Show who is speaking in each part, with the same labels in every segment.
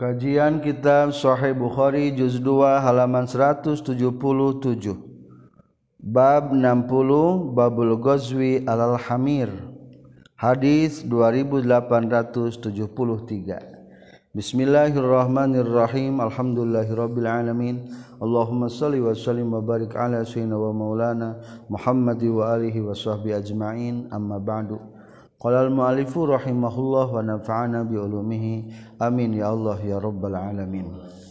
Speaker 1: Kajian Kitab Sahih Bukhari juz 2 halaman 177. Bab 60 Babul Ghazwi alal Hamir. Hadis 2873. Bismillahirrahmanirrahim. Alhamdulillahirabbil alamin. Allahumma shalli wa sallim wa barik ala sayyidina wa maulana Muhammad wa alihi wa sahbihi ajma'in. Amma ba'du. Qala al-mu'allifu rahimahullah wa nafa'ana bi ulumihi amin ya Allah ya rabbal alamin.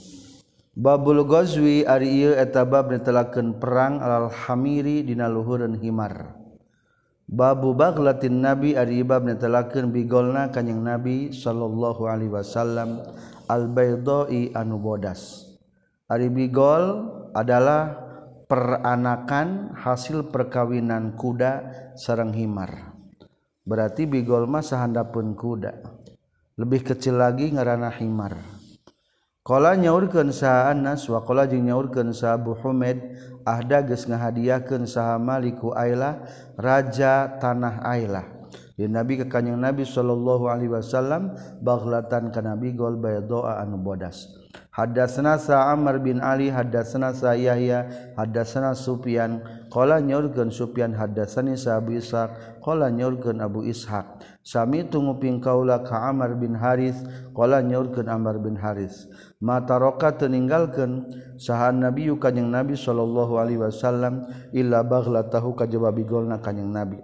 Speaker 1: Babul Ghazwi ari ieu eta bab netelakeun perang alal hamiri dina luhureun himar. Babu baglatin nabi ari bab netelakeun bigolna kanjing nabi sallallahu alaihi wasallam al-baydai anu bodas. Ari bigol adalah peranakan hasil perkawinan kuda sareng himar. Berarti bigol mah sahandapeun kuda. Lebih kecil lagi ngaranna himar. Qala nyaurkeun saha Anas wa qala jeung nyaurkeun saha Abu Humaid ahda geus ngahadiahkeun saha Maliku Ailah raja tanah Ailah. Di Nabi ka kanjing Nabi sallallahu alaihi wasallam baghlatan kana bigol bayda anu bodas. Hadatsana sa Amr bin Ali hadatsana sa Yahya hadatsana Sufyan qala nyaurkeun Sufyan hadatsani sa Abu Ishaq qala nyaurkeun Abu Ishaq sami tunguping kaula ka Amr bin Haris qala nyaurkeun Amr bin Haris mata roka teninggalkeun saha Nabi kanjing Nabi sallallahu alaihi wasallam illa baghlatahu kajaba bigolna kanjing Nabi.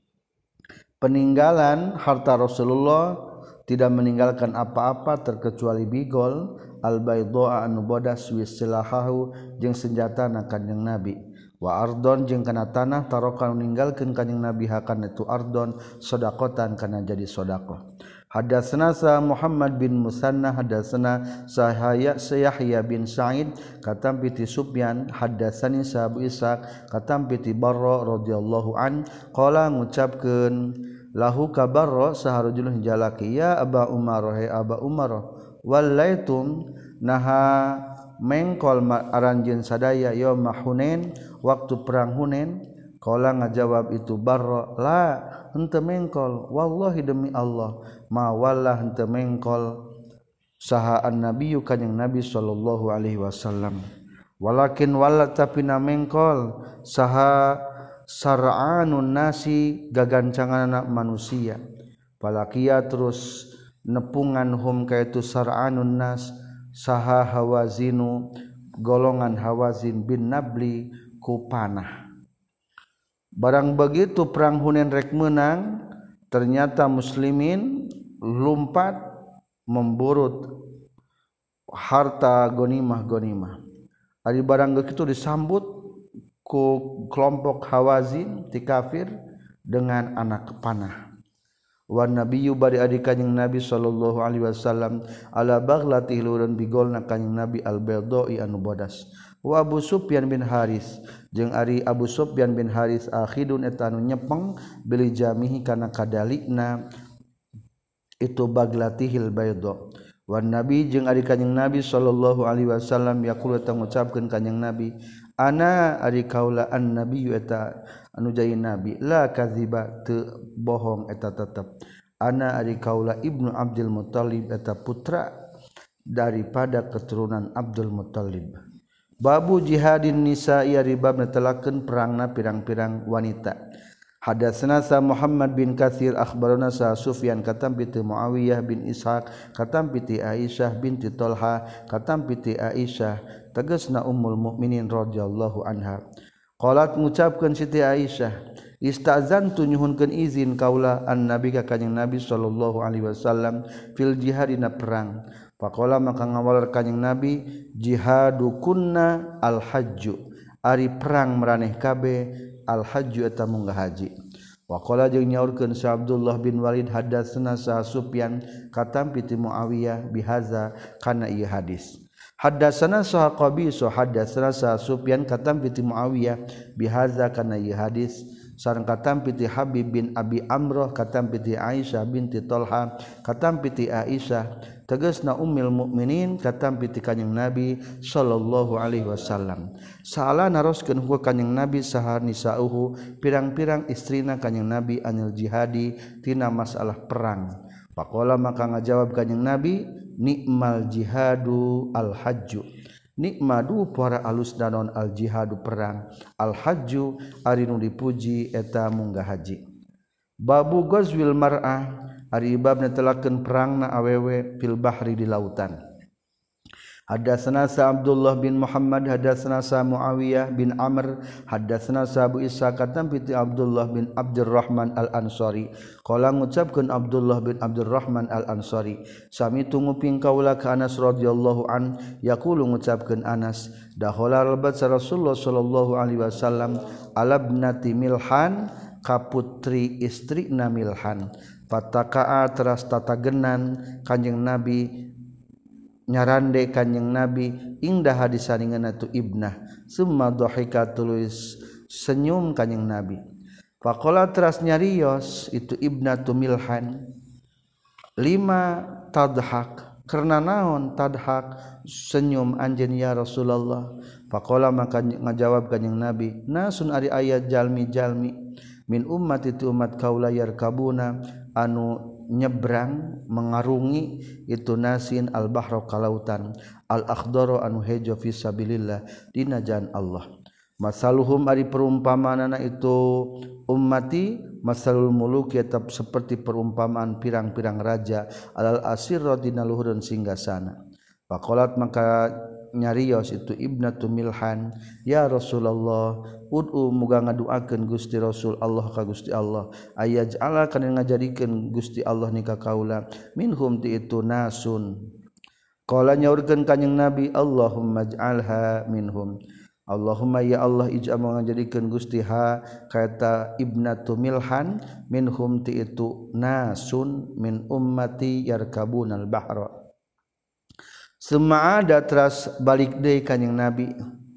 Speaker 1: Peninggalan harta Rasulullah tidak meninggalkan apa-apa terkecuali bigol al-baydha anu bodas wisilahahu jeung senjatana kanjing Nabi wa ardon jeung kana tanah taroka ninggalkeun kanjing Nabi hakan itu ardon sedaqatan kana jadi sedekah. Hadatsana sa Muhammad bin Musanna hadatsana Yahya bin Sa'id katam piti Sufyan hadatsani sa Abu Ishaq katam piti Barra radhiyallahu an qala ngucapkeun lahu kabarra saharujul jalaki ya Aba Umar he Aba Umar wallaitum naha mengkol aranjeun sadaya yaum Hunain waktu perang Hunain qala ngajawab itu Barra la henteu mengkol wallahi demi Allah ma wallah henteu mengkol saha an-nabiyyu kanjing Nabi sallallahu alaihi wasallam walakin walla tapi na mengkol saha sar'anun nasi gagancangan anak manusia palakia terus nepungan hum kaitu sar'anun nas saha hawazinu golongan hawazin bin nabli ku panah. Barang begitu perang Hunain rek menang ternyata muslimin lumpat memburut harta gonimah ari barang begitu disambut ku kelompok Hawazin ti kafir dengan anak panah. Wa nabiyyu bari adi kanjing Nabi sallallahu alaihi wasallam ala baghlati lureun bigolna kanjing Nabi al-baydai anu bodas. Wa Abu Sufyan bin Haris jeung ari Abu Sufyan bin Haris akhidun eta anu nyepeng bili jamihi kana kadalikna itu baglatihil baydha. Wa nabi jeung ari kanjing Nabi sallallahu alaihi wasallam yaqulu ta ngucapkeun kanjing Nabi ana ari kaula an-nabiyyu eta anu jai nabi la kadziba teu bohong eta tetep ana ari kaula ibnu Abdul Muttalib eta putra daripada keturunan Abdul Muttalib. Babu jihadin nisa'i ari bab netelakeun perangna pirang-pirang wanita. Hadatsana sa Muhammad bin Katsir akhbarana sa Sufyan katam piti Muawiyah bin Ishaq katam piti Aisyah binti Talha katam piti Aisyah tegasna ummul mukminin radhiyallahu anha qalat ngucapkeun Siti Aisyah istazantu nyuhunkeun izin kaula an-nabi ka kanjing Nabi sallallahu alaihi wasallam fil jihadina perang faqala maka ngawalar kanjing Nabi jihadukunna al-hajju ari perang maraneh kabeh al-hajju eta munggah haji. Wa qala jeung nyaurkeun sa Abdullah bin Walid hadatsana sa Sufyan katam piti Muawiyah bihaza kana ieu hadis. Hadatsana sa Qabis hadatsana sa Sufyan katam piti Muawiyah bihaza kana ieu hadis sareng katam piti Habib bin Abi Amrah katam piti Aisyah binti Talha katam piti Aisyah tegasna ummul mukminin katam piti kanjing Nabi sallallahu alaihi wasallam saala naroskeun ku kanjing Nabi saha nisauhu pirang-pirang istrina kanjing Nabi anil jihadi tina masalah perang. Faqala maka ngajawab kanjing Nabi nikmal jihadu al-hajju nikmadu para alus danon al-jihadu perang al-hajju ari nu dipuji eta munggah haji babu ghazwil mar'ah ari bab netelakeun perangna awewe fil bahri di lautan. Hadatsana Abdullah bin Muhammad hadatsana Muawiyah bin Amr hadatsana Abu Ishaq katampi Abdullah bin Abdurrahman Al-Ansari qala ngucapkeun Abdullah bin Abdurrahman Al-Ansari sami tunguping kaula ka Anas radhiyallahu an yaqulu ngucapkeun Anas dakhala rabat Rasulullah sallallahu alaihi wasallam ala ibnati Milhan ka putri istrina Milhan fataqaa teras tatagenan Kanjeng Nabi nyarande Kanjeng Nabi ingdah hadisaningan tu ibnah summa dhahika tulis senyum Kanjeng Nabi faqala teras nyarios itu ibnatu Milhan lima tadhak karena naon tadhak senyum anjeun ya Rasulullah faqala maka ngajawab Kanjeng Nabi nasun ari ayat jalmi-jalmi min ummat itu umat kaula yarkabuna anu nyebrang mengarungi itu nasin al-bahra kalautan al-akhdara anu hejo fi sabilillah dina jalan Allah masaluhum ari perumpamanana itu ummati masalul muluk tetap seperti perumpamaan pirang-pirang raja alal asirra dina luhureun singgasana faqalat maka nyarios itu ibnatu Milhan ya Rasulullah ud'u muga ngaduakeun Gusti Rasul Allah ka Gusti Allah ayaj'ala kana ngajadikeun Gusti Allah nika kaula minhum ti itu nasun qala nyaurkeun Kanjeng Nabi Allahumma ij'alha minhum Allahumma ya Allah ij'al ngajadikeun Gusti ha kata ibnatu Milhan minhum ti itu nasun min ummati yarkabunal bahra Semaada teras balik deui Kanjeng Nabi.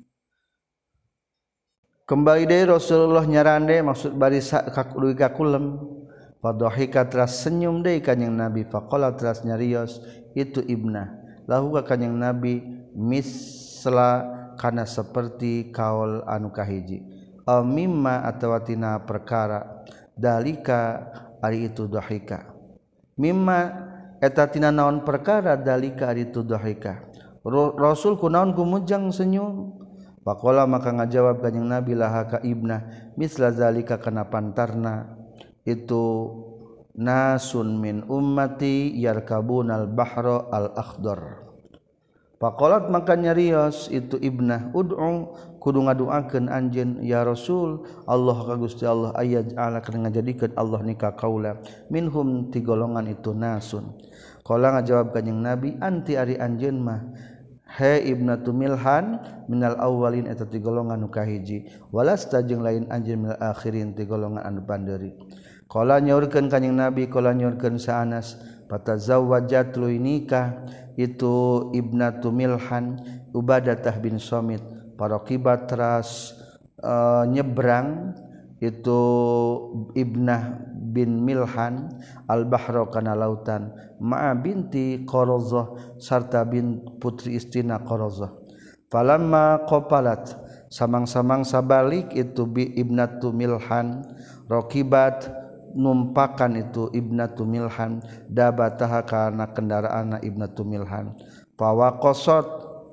Speaker 1: Kembali deui Rasulullah nyarande maksud bari kakudugi kakulem. Fadhahika teras senyum deui Kanjeng Nabi faqala teras nyarios itu ibnah. Lahu ka Kanjeng Nabi misla kana seperti kaul anu kahiji. Al mimma atawa tina perkara dalika ari itu dhahika. Mimma eta tina naon perkara dalika ari tu dhahika Rasul kunaon kumujang senyum faqala maka ngajawab Kanjeng Nabi laha ka ibnah misla zalika kana pantarna itu nasun min ummati yarkabunal bahra al akhdar faqalat maka nyarios itu ibnah ud'u kudu ngaduakeun anjeun ya Rasul Allah ka Gusti Allah ayaj'ala kana ngajadikeun Allah nika kaula minhum ti golongan itu nasun qala ngajawab Kanjeng Nabi anti ari anjeun mah he ibnatu Milhan minal awwalin eta ti golongan nu kahiji walasta jeung lain anjeun minal akhirin ti golongan anu pandeuri qala nyaurkeun Kanjeng Nabi qala nyaurkeun sa Anas patazawwajat tuluy nikah itu ibnatu Milhan Ubadah bin Samit paraqibat teras nyebrang itu ibnah bin Milhan al-bahra kana lautan ma'a binti Qarazah sarta bin putri istina Qarazah falamma qapalat samang-samang sabalik itu bi ibnatu Milhan raqibat numpakan itu ibnatu Milhan dabataha kana kendaraana ibnatu Milhan fawaqasat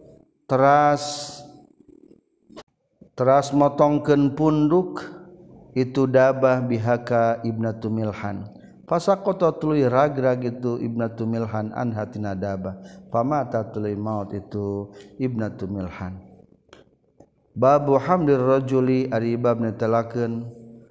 Speaker 1: teras motongkeun punduk itu dabah bihaka ibnatu Milhan fasaqata tuluy ragrag itu ibnatu Milhan an hatina dabah famata tuluy maut itu ibnatu Milhan babu hamdir rajuli ari bab netelakeun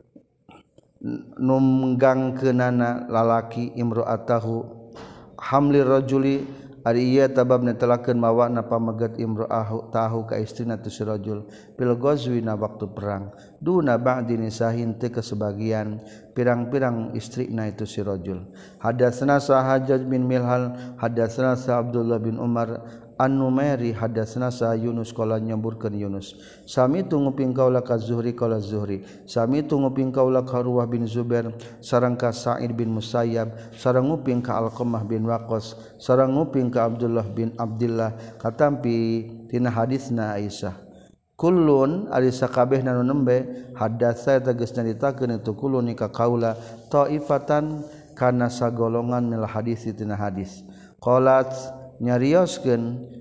Speaker 1: numgangkeunana lalaki imro'atahu hamlir rajuli ari ieu tabab netelakeun mawana pamegat imro'ahu tahu ka istrina tu si rajul bil ghazwi na waktu perang duna ba'di nisahin teu kesebagian pirang-pirang istrina itu si rajul hadatsana Hajjaj bin Milhal hadatsana Abdullah bin Umar An-Numairi hadatsana Yunus qala nyamburkeun Yunus sami tunguping kaula ka Zuhri qala Zuhri sami tunguping kaula ka Urwah bin Zubair sareng ka Sa'id bin Musayyab sareng nguping ka Alqamah bin Waqqas sareng nguping ka Abdullah bin Abdillah katampi tina hadisna Aisyah kullun ari sakabehna nu nembe hadatsa tegasna ditakeun itu kullun ka kaula taifatan kana sagolongan mil hadis tina hadis qalat nyarioskeun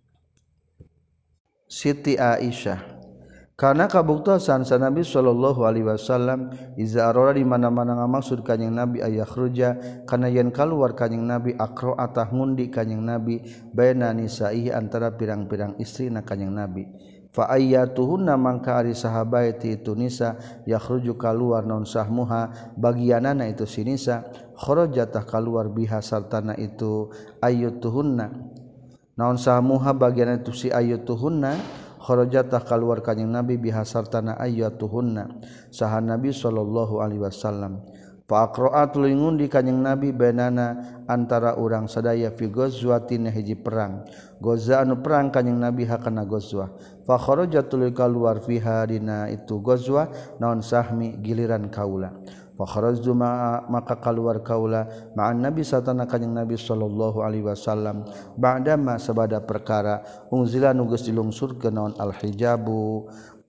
Speaker 1: Siti Aisyah karena kabuktosan sa Nabi sallallahu alaihi wasallam iza arora di mana-mana ngamaksud kanjing Nabi ayakhruja kana yen kaluar kanjing Nabi aqra'atah ngundi kanjing Nabi baina nisaihi antara pirang-pirang istrina kanjing Nabi fa ayyatuhunna mangka ari sahabaiti itu nisa yakhruju kaluar naun sahmuha bagianana itu si nisa kharajatah kaluar biha sartana itu ayyatuhunna naun sahmuha bagianana itu si ayyatuhunna kharajatah kaluar kanjing Nabi biha sartana ayyatuhunna saha Nabi sallallahu alaihi wasallam fa aqra'at ngundi kanjing Nabi bainana antara urang sadaya fi ghazwatin hiji perang goza anu perang kanjing Nabi hakana ghazwah fa kharajatul kaluar fiha dina itu ghazwah naon sahmi giliran kaula fa kharajtu maka kaluar kaula ma'an Nabi satana kanjing Nabi sallallahu alaihi wasallam ba'da ma sabada perkara unzila nu geus dilungsurkeun naon al hijabu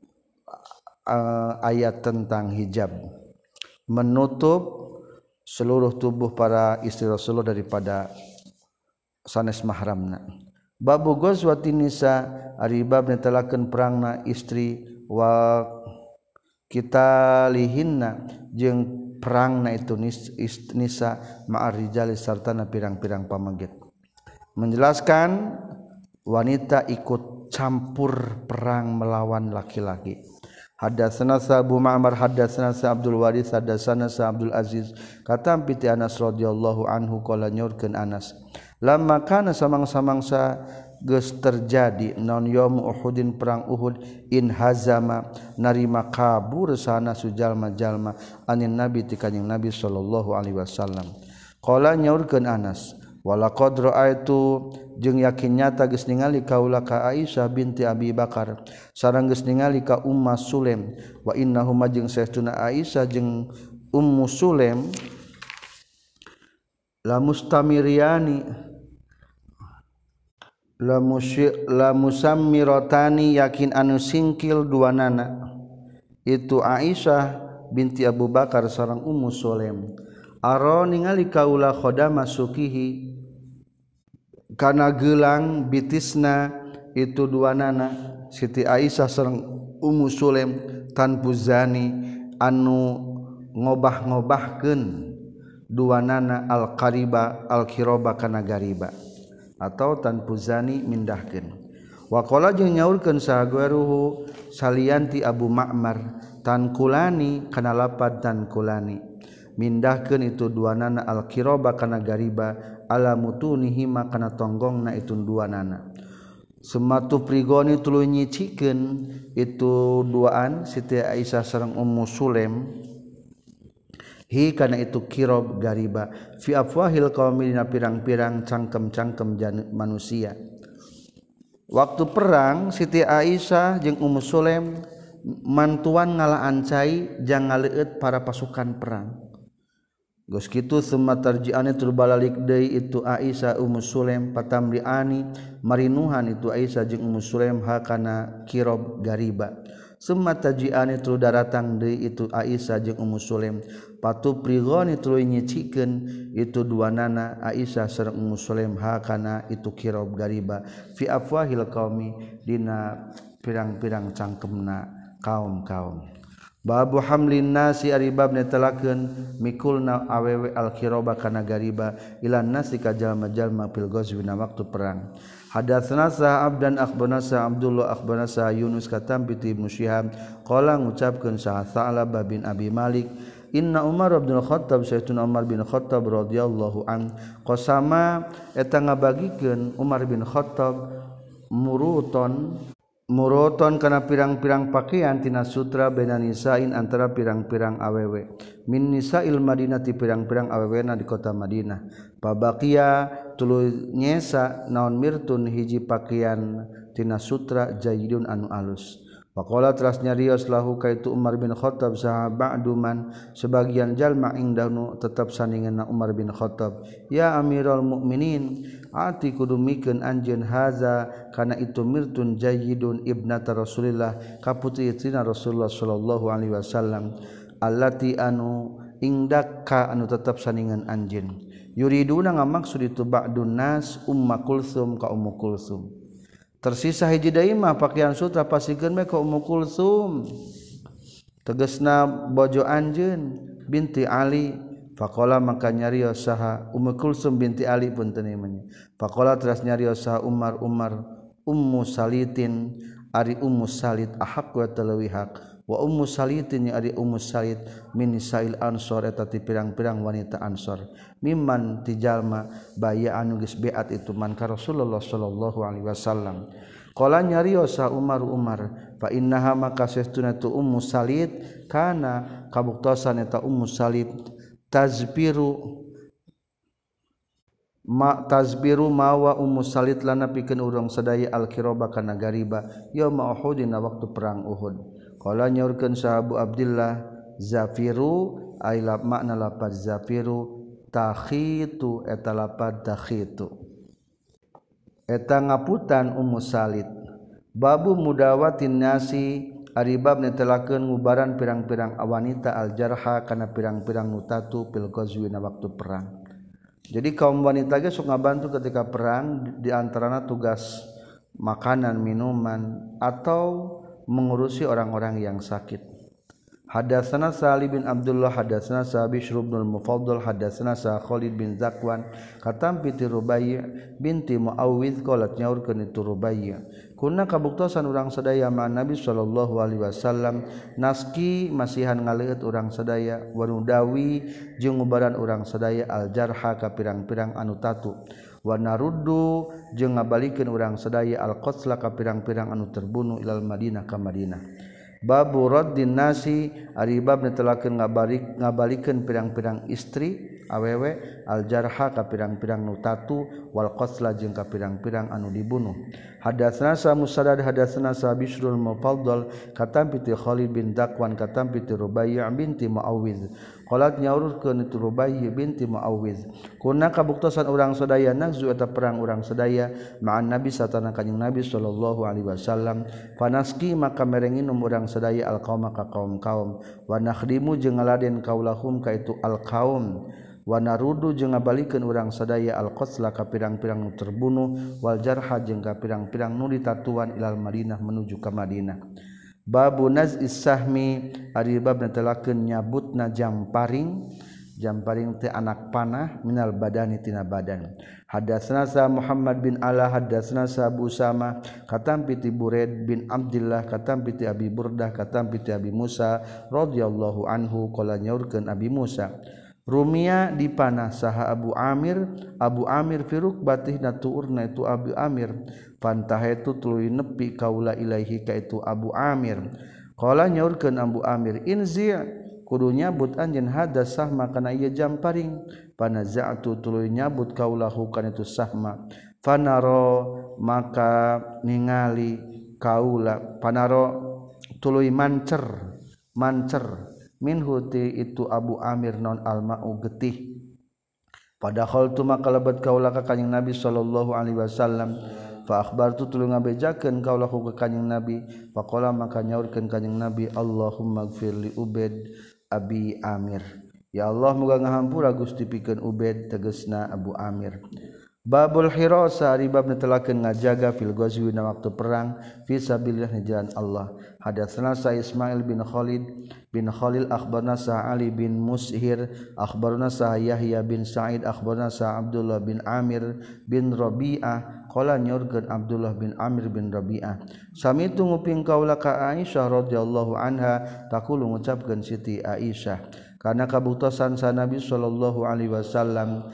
Speaker 1: ayat tentang hijab menutup seluruh tubuh para istri Rasulullah daripada sanes mahramna babu ghazwatin nisa ari bab netelakeun perangna istri wa kita lihinna jeung perangna itu nisa ma'ar rijali sartana pirang-pirang pamaget menjelaskan wanita ikut campur perang melawan laki-laki. Hadatsana Abu Ma'mar hadatsana Abdul Waris hadatsana Abdul Aziz katam piti Anas radhiyallahu anhu qala nyorkeun Anas lamma kana samang-samangsa geus terjadi naon yaum Uhudin perang Uhud in hazama narima kabur sana sujalma-jalma anin nabi ti kanjing Nabi sallallahu alaihi wasallam qala nyaurkeun Anas walaqad ra'aitu jeung yakin nyata geus ningali kaula ka Aisyah binti Abi Bakar sareng geus ningali ka Ummu Sulaim wa innahuma jeung saestuna Aisyah jeung Ummu Sulaim la mustamiriani la musammiratani yakin anu singkil duanana itu Aisyah binti Abu Bakar sareng Ummu Sulaim aro ningali kaula khodama sukihi kana gelang bitisna itu duanana Siti Aisyah sareng Ummu Sulaim tanpu zani anu ngobah-ngobahkeun duanana al-qariba al-qiraba kana gariba atau tanpu zani mindahkeun wa qala jeung nyaurkeun sahagueruhu salianti Abu Ma'mar tankulani kana lapad tankulani mindahkeun itu duanana al-qiraba kana gariba ala mutunihi kana tonggongna itu duanana sematu prigoni tuluy nyicikeun itu duaan Siti Aisyah sareng Ummu Sulaim hi kana itu kirob gariba fi afwahil qaumi dina pirang-pirang cangkem-cangkem manusia waktu perang Siti Aisyah jeung Ummu Sulaim mantuan ngalaan cai jang ngaleueut para pasukan perang geus kitu summa tarji'ani tur balalik deui itu Aisyah Ummu Sulaim patamri'ani marinuhan itu Aisyah jeung Ummu Sulaim hakana kirob gariba summa taji'ani tur daratang deui itu Aisyah jeung Ummu Sulaim patu prigoni tuluy nyicikeun itu duanana Aisyah sareng Ummu Sulaim hakana itu kirob gariba fi afwahil qaumi dina pirang-pirang cangkemna kaum-kaum babu hamlin nasi ari bab netelakeun mikulna awewe al-qiraba kana gariba ilan nasi ka jalma-jalma fil ghazwina waktu perang hadatsana Abdan akhbarana Abdullah akhbarana Yunus katam bi Ibnu Syihab qala ngucapkeun Sa'labah bin Abi Malik inna Umar bin Khattab sayyiduna Umar bin Khattab radhiyallahu an qasama eta ngabagikeun Umar bin Khattab muruton kana pirang-pirang pakaian tina sutra bena nisain antara pirang-pirang awewe min nisail Madinah ti pirang-pirang awewena di kota Madinah pabaqiya tuluy nyesa naon mirtun hiji pakaian tina sutra jayyidun anu alus faqala teras nyarios lahu kaitu Umar bin Khattab saha ba'duman sebagian jalma indahnu tetap sandinganna Umar bin Khattab ya Amirul Mukminin ati kudu mikeun anjeun haza kana itu mirtun jayyidun ibnata Rasulillah kaputri-putrina Rasulullah sallallahu alaihi wasallam allati anu indaka anu tetap sandingan anjeun yuriduna ngamaksud itu ba'dun nas Ummu Kulsum ka Ummu Kulsum tersisa hiji deui mah pakaian sutra pasikeun mah ka Ummu Kulsum tegasna bojo anjeun binti Ali faqala maka nyarios saha Ummu Kulsum binti Ali pun teu namanya faqala teras nyarios saha Umar Ummu Salitin ari Ummu Salit ahaq wa talawi haq wa Ummu Salitin ari Ummu Salit min nisail ansor eta ti pirang-pirang wanita ansor mimman ti jalma baya anu geus beat itu man ka Rasulullah sallallahu alaihi wasallam qala nyarios sa Umar fa innaha maka sestunna tu Ummu Salit kana kabuktosan eta Ummu Salit tazbiru mawa Ummu Salit lana pikeun urang sadaya al-qiraba kana gariba yauma Uhud dina waktu perang Uhud qala nyaurkeun sahabu Abdullah zafiru ay makna lapaz zafiru takhitu eta lapad takhitu eta ngaputan Ummu Salit babu mudawatin nasi ari bab netelakeun ngubaran pirang-pirang wanita al-jarha kana pirang-pirang nutatu pil ghazwi na waktu perang. Jadi kaum wanita ge sok ngabantu ketika perang di antarana tugas makanan, minuman atau mengurusi orang-orang yang sakit. Hadatsana Salih bin Abdullah hadatsana Bishr bin Mufaddal hadatsana Khalid bin Zakwan katam piti Rubai' binti Muawwidz qalat nyaurkeun itu Rubai' kunna kabuktosan urang sadaya ma Nabi sallallahu alaihi wasallam naski masihan ngaleut urang sadaya wanudawi jeung ngubaran urang sadaya al-jarha ka pirang-pirang anu tatu wa naruddu jeung ngabalikeun urang sadaya al-qatla ka pirang-pirang anu terbunuh ilal Madinah ka Madinah. Babu raddin nasi ari bab netelakeun ngabalikeun pirang-pirang istri awewe al-jarha ka pirang-pirang nutatu wal qatla jeung ka pirang-pirang anu dibunuh. Hadatsana Musaddad hadatsana Bishrul Mufaddal katam piti Khalid bin Zakwan katam piti Rubai' binti Muawwidz qalat nyaurkeun itu Rubai' binti Muawwidz kunna kabuktosan urang sadaya nagzu eta perang urang sadaya ma'an Nabi satana kanjing Nabi sallallahu alaihi wasallam fanaski maka merenginum urang sadaya al-qauma ka kaum-kaum wa nakhdimu jeung ngaladen kaulahum ka itu al-qaum wa narudu jeung ngabalikeun urang sadaya al-qatla ka pirang-pirang nu terbunuh wal jarha jeung ka pirang-pirang nu ditatuan ilal Madinah menuju ka Madinah. Babu naz'is sahmi ari bab netelakeun nyabutna jamparing teh anak panah minal badani tina badan. Hadatsana Muhammad bin Ala hadatsana Abu Usama katam piti Buraid bin Abdullah katam piti Abi Burdah katam piti Abi Musa radhiyallahu anhu qala nyaurkeun Abi Musa Rumia dipanah saha Abu Amir firuk batih natuurna itu Abu Amir pantahetu tuluy nepi kaula ilaihi ka itu Abu Amir qala nyaurkeun Abu Amir inzi kudu nyabut anjeun hada sahma kana ieu jamparing panaza'tu tuluy nyabut kaulahu kana itu sahma fanaro maka ningali kaula panaro tuluy mancer minhu ti itu Abu Amir non alma'u getih padahal tu maka lebat kaula ka kanjing Nabi sallallahu alaihi wasallam fa akhbartu tuluy ngabejakeun kaulahu ka kanjing Nabi faqala maka nyaurkeun kanjing Nabi Allahumma ighfir li Ubaid Abi Amir ya Allah muga ngahampura Gusti pikeun Ubaid tegasna Abu Amir. Babul hirasa ribab netelakeun ngajaga fil ghazwi na waktu perang fi sabilillah jalan Allah. Hadatsana Ismail bin Khalil akhbarna Ali bin Mushir akhbarna Yahya bin Sa'id akhbarna Abdullah bin Amir bin Rabi'ah qala nyurkeun Abdullah bin Amir bin Rabi'ah samitu nguping kaula ka Aisyah radhiyallahu anha taqulu ngucapkeun Siti Aisyah kana kabuktosan sa Nabi sallallahu alaihi wasallam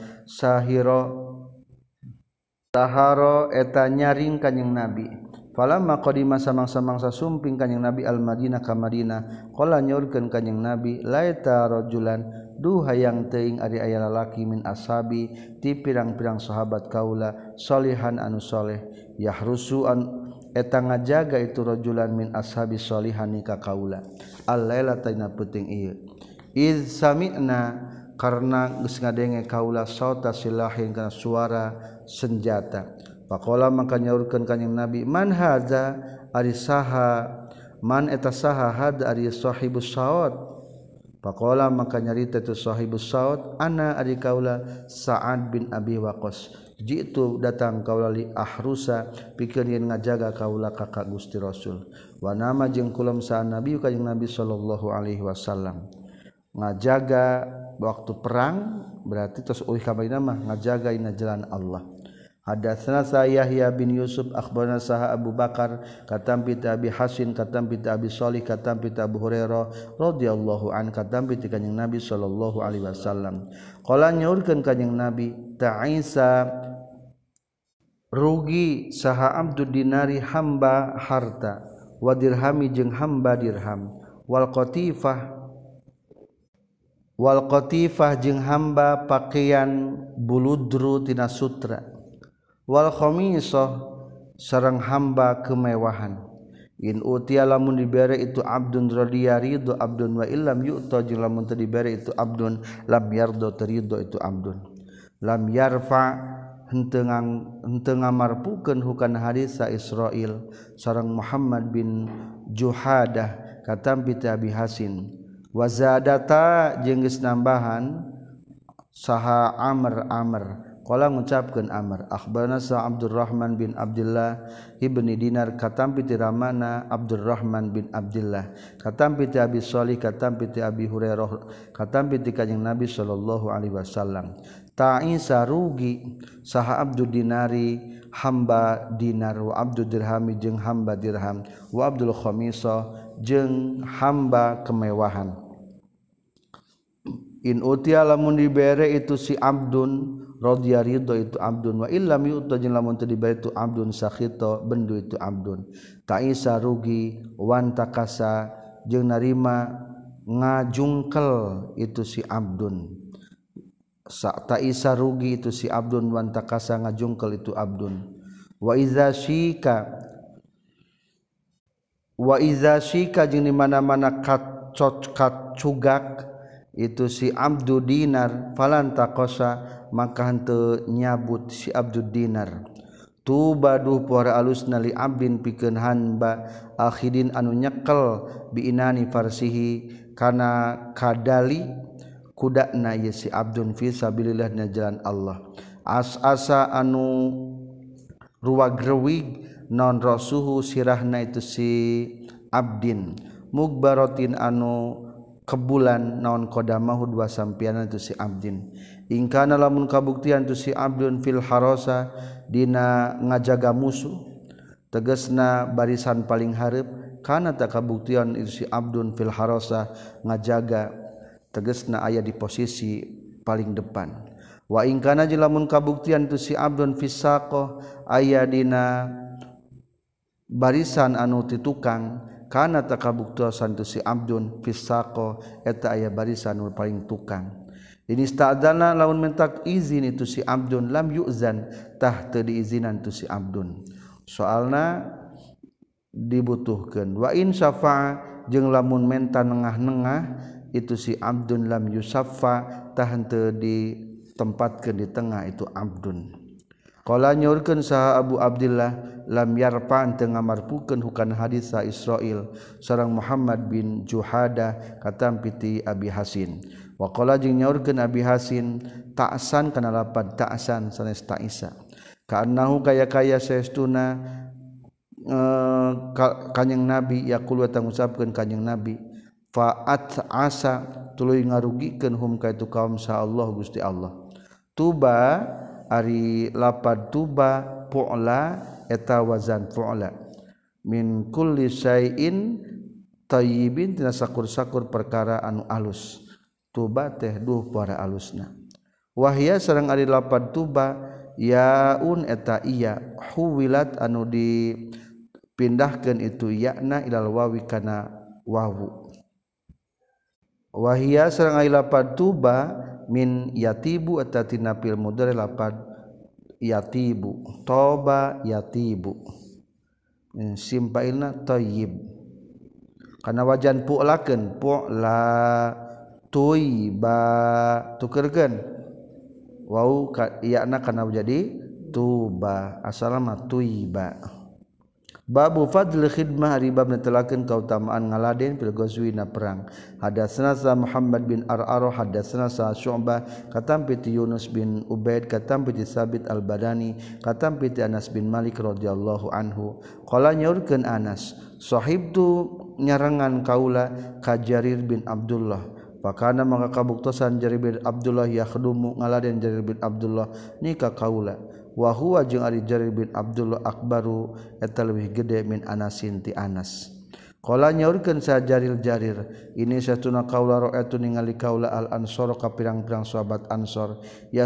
Speaker 1: Saharo eta nyaring kanjing Nabi. Falamma qadima samang-samangsa sumping kanjing Nabi al-Madinah ka Madinah, qala nyaurkeun kanjing Nabi, laita rajulan duh hayang teuing ari aya lalaki min ashabi ti pirang-pirang sahabat kaula salihan anu saleh yahrusu an eta ngajaga itu rajulan min ashabi salihan ka kaula. Al-lailata ina peuting ieu. Iz sami'na karena geus ngadenge kaula sauta silahin kana suara senjata. Faqala maka nyaurkeun kanjing Nabi, man hadza ari saha man eta saha had ari sahibus saut Faqala maka nyarita tu sahibus saut ana ari kaula Sa'ad bin Abi Waqqas jitu datang kaula li ahrusa pikeun yen ngajaga kaula ka Gusti Rasul wa nama jeung kulam sa nabi ka jeung Nabi sallallahu alaihi wasallam ngajaga waktu perang berarti terus euy ka baina mah ngajaga ina jalan Allah. Hadatsana Yahya bin Yusuf akhbarana Saha Abu Bakar katam bi Abi Hasin katam bi Abi Shalih katam bi Abu Hurairah radhiyallahu an katam bi kanjing Nabi sallallahu alaihi wasallam qala nyaurkeun kanjing Nabi ta'isa rugi saha abdud dinari hamba harta wa dirhami jeung hamba dirham wal qatifah jeung hamba pakaian buludru tina sutra wal khamisah sareng hamba kemewahan in utiya lamun dibere itu abdun radiya ridho abdun wa illam yu'ta jeung lamun teu dibere itu abdun lam yardo terido itu abdun lam yarfa henteu ngamarpukeun hukana hadis sa Israil sareng Muhammad bin Juhadah katam bi Abi Hasin wa zadata jeung geus nambahan saha Amr qala ngucapkeun Amr akhbarana sa Abdurrahman bin Abdullah ibni Dinar katam piti ramana Abdurrahman bin Abdullah katam piti Abi Shalih katam piti Abi Hurairah katam piti kanjing Nabi sallallahu alaihi wasallam ta'isa rugi saha abdud dinari hamba dinar wa abdud dirhami jeung hamba dirham wa abdul khamisah jeung hamba kemewahan in utiya lamun dibere itu si abdun radhiya ridho itu abdun wa illam yu'ta jeung lamun teu dibere itu abdun sakhita bendu itu abdun ta'isa rugi wan takasa jeung narima ngajungkel itu si abdun ta'isa rugi itu si abdun wan takasa ngajungkel itu abdun wa iza syika jeung di mana-mana kacugak itu si abdu dinar falan takosa maka henteu nyabut si abdud dinar tubaduh puara alusna li abdin pikeun hamba akhidin anu nyekel bi inani farsihi kana kadali kudana ye si abdun fi sabilillah na jalan Allah asa anu ruwagrewig non rasuhu sirahna itu si abdin mugbaratin anu kebulan naon qadamahu dua sampiana itu si abdin ingkana lamun kabuktian tu si abdun fil harasa dina ngajaga musuh tegasna barisan paling hareup kana tak kabuktian itu si abdun fil harasa ngajaga tegasna aya di posisi paling depan wa ingkana lamun kabuktian tu si abdun fisaqah aya dina barisan anu ti tukang kana takabuktosan tu si abdun fisaqo eta aya barisan nu paling tukang ini sta'dana lamun mentak izin itu si abdun lam yu'zan tah teu diizinan tu si abdun soalna dibutuhkeun wa in syafa'a jeung lamun menta nengah-nengah itu si abdun lam yusaffa tah henteu ditempatkeun di tengah itu abdun qala nyaurkeun saha Abu Abdillah lam yarfa teu ngamarpukeun hukana hadis sa Israil sareng Muhammad bin Juhadah katam piti Abi Hasin wa qala jeung nyaurkeun Abi Hasin ta'san kana lapad ta'san sanes ta'isa kaannahu kaya saestuna kanjing Nabi yaqul wa ngucapkeun kanjing Nabi fa'at asa tuluy ngarugikeun hum ka itu kaum sa Allah Gusti Allah tuba ari lapad tuba pu'la eta wazan fu'la min kulli syai'in tayyibin tina sakur-sakur perkara anu alus tuba teh duh para alusna wahya sareng ari lapad tuba yaun eta iya huwilat anu dipindahkeun itu yakna ilal wawi kana wawu wahya sareng ari lapad tuba min yatibu eta tina fil mudhari lapad yatibu toba yatibu simpailna tayyib kana wajan pu'lakeun pu'la tuyba tukeurkeun wau iyana kana jadi tuba asalna tuyba Babu fadl khidmah ari bab netelakeun kautamaan ngaladen fil ghazwi na perang. Hadatsana sa Muhammad bin Ar'ar hadatsana sa Syu'bah katampi ti Yunus bin Ubaid katampi ti Sabit al-Badani katampi ti Anas bin Malik radhiyallahu anhu. Qala nyaurkeun Anas, sahibtu nyarangan kaula ka Jarir bin Abdullah. Pakana maka kabuktosan Jarir bin Abdullah yakhdumu ngaladen Jarir bin Abdullah ni ka kaula. Wa huwa jeung ari Jarir bin Abdullah akbaru eta leuwih gede min Anasin ti Anas. Qala nyaurkeun sa Jarir ini satuna kaula ra'atu ningali kaula al ansor ka pirang-pirang sahabat Ansor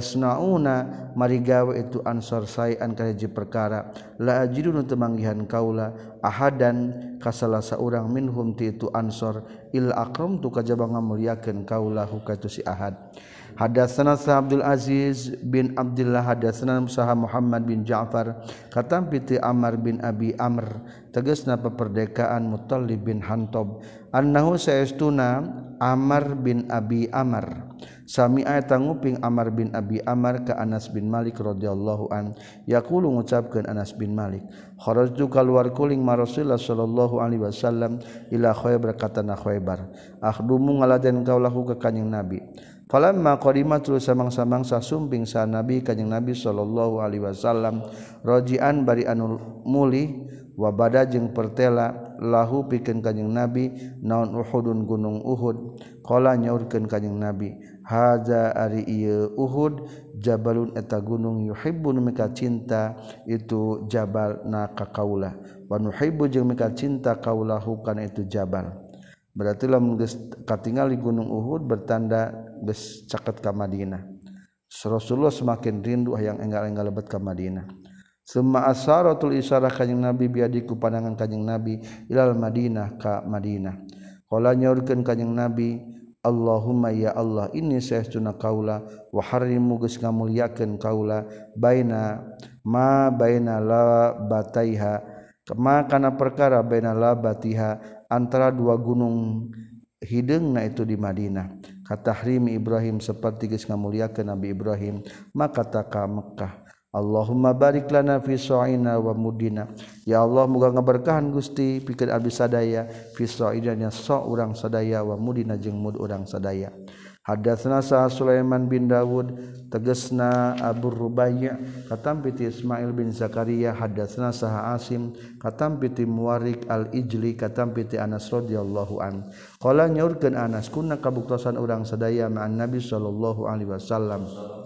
Speaker 1: yasnauna marigawe itu Ansor saean ka hiji perkara la ajidun teu manggihan kaula ahadan ka salah saurang minhum ti itu Ansor il akramtu kajaba ngamuliakeun kaula hu ka itu si Ahad. Hadatsana Abdul Aziz bin Abdullah hadatsana Musaha Muhammad bin Ja'far katampi ti Amr bin Abi Amr tegasna peperdekaan Muttalib bin Hantob annahu saestuna Amr bin Abi Amr sami'a tanguping Amr bin Abi Amr ka Anas bin Malik radhiyallahu an yaqulu ngucapkeun Anas bin Malik kharajtu kaluar kuling ma Rasulullah sallallahu alaihi wasallam ila Khaybar katana Khaybar akhdumu ngaladen kaulahu ka kanjing Nabi. Falamma qadimatul samang-samang sasumping sa Nabi kanjing Nabi sallallahu alaihi wasallam rajian bari anu mulih wa bada jeung pertela lahu pikeun kanjing Nabi naon Uhudun gunung Uhud qala nyaurkeun kanjing Nabi haza ari ieu Uhud jabalun eta gunung yuhibbun mika cinta itu jabal na ka kaula wa nuhibbu jeung mika cinta kaulahu kana itu jabal. Berarti lamun geus katingali gunung Uhud bertanda geus caket ka Madinah. Rasulullah semakin rindu hayang enggal-enggal lebet ka Madinah. Summa asaratul isyarah kanjing Nabi biadiku pandangan kanjing Nabi ilal Madinah ka Madinah. Qala nyaurkeun kanjing Nabi Allahumma ya Allah inni saestuna kaula wa harimu geus ngamuliakeun kaula baina ma baina la bataiha kama kana perkara baina la batiha antara dua gunung hideungna itu di Madinah katahrimi Ibrahim seperti geus ngamuliakeun Nabi Ibrahim maka taka Mekkah Allahumma barik lana fi sa'ina wa mudina ya Allah muga ngaberkahan Gusti pikeun abdi sadaya fi sa'idanya sa urang sadaya wa mudina jeung mud urang sadaya. Hadatsana sa Sulaiman bin Dawud tegasna Abu Rubai' katampi ti Ismail bin Zakaria hadatsana sa Asim katampi ti Muwarik al-Ijli katampi ti Anas radhiyallahu an qala nyaurkeun Anas kunna kabuktosan urang sadaya ma'an Nabi sallallahu alaihi wasallam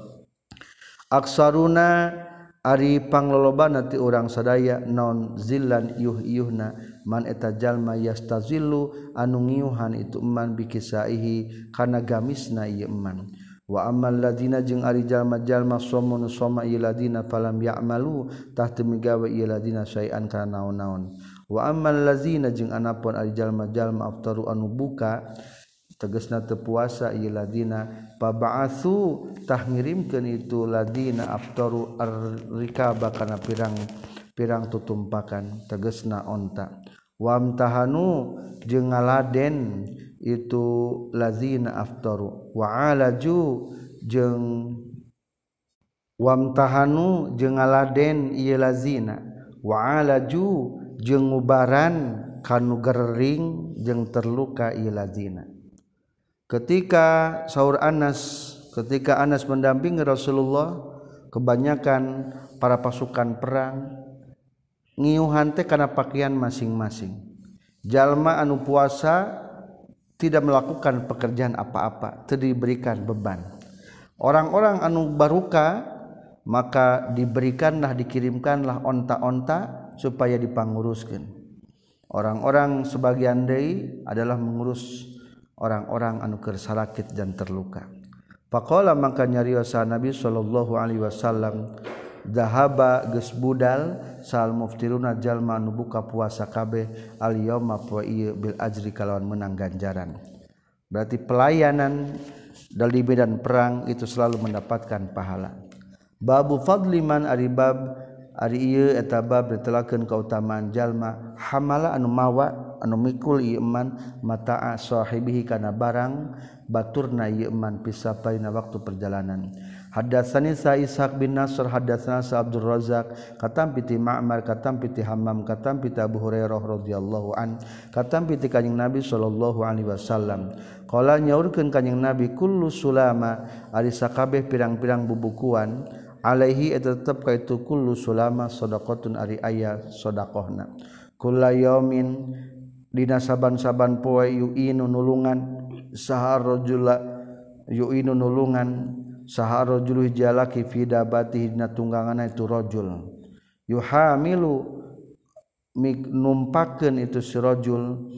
Speaker 1: aksaruna ari panglolobana ti urang sadaya non zillan yuh-yuhna man eta jalma yastazillu anu ngiuhan itu eman bikisaihi kana gamisna ieu eman wa ammal ladina jeung ari jalma-jalma somun soma ieu ladina falam ya'malu tah teu migawe ieu ladina saean kana naon-naon wa ammal lazina jeung anapun ari jalma-jalma aftaru anu buka tegasna teu puasa ieu ladina paba'atsu tah ngirimkeun itu ladina aftaru ar-rikaba kana pirang tutumpakan tegasna onta wamtahanu jeung ngaladen itu lazina aftaru wa alaju jeung wamtahanu jeung ngaladen ieu lazina wa alaju jeung ngubaran kanu gering jeung terluka ieu lazina. Ketika Anas mendampingi Rasulullah kebanyakan para pasukan perang ngiuhan teh kana pakaian masing-masing. Jalma anu puasa tidak melakukan pekerjaan apa-apa, teu diberikan beban. Orang-orang anu baruka maka diberikanlah dikirimkanlah onta-onta supaya dipanguruskeun. Orang-orang sebagian deui adalah mengurus orang-orang anu keur sakit dan terluka. Faqala maka nyariosa Nabi sallallahu alaihi wasallam zahaba geus budal sal muftiruna jalma anu buka puasa kabeh al yauma poe ieu bil ajri kalawan menang ganjaran. Berarti pelayanan dari medan perang itu selalu mendapatkan pahala. Babu fadli man aribab ari ieu eta bab netelakeun kautamaan jalma hamala anu mawa anu mikul ieu eman mata'a sahibihi kana barang baturna ieu eman pisapaina waktu perjalanan. Hadatsani sa Ishaq bin Nasr hadatsana sa Abdul Razzaq katam piti Ma'mar katam piti Hammam katam piti Abu Hurairah radhiyallahu an katam piti kanjing Nabi sallallahu alaihi wasallam qala nyaurkeun kanjing Nabi kullu sulama ari sakabeh pirang-pirang bubukuan alaihi eta tetep ka itu kullu sulama shadaqatun ari aya sedekahna kullayaumin dina saban-saban poe yu'inu nulungan sahar rajula yu'inu nulungan sahar rajul jalaki fi dabatihi dina tungganganna itu rajul yuhamilu numpakeun itu si rajul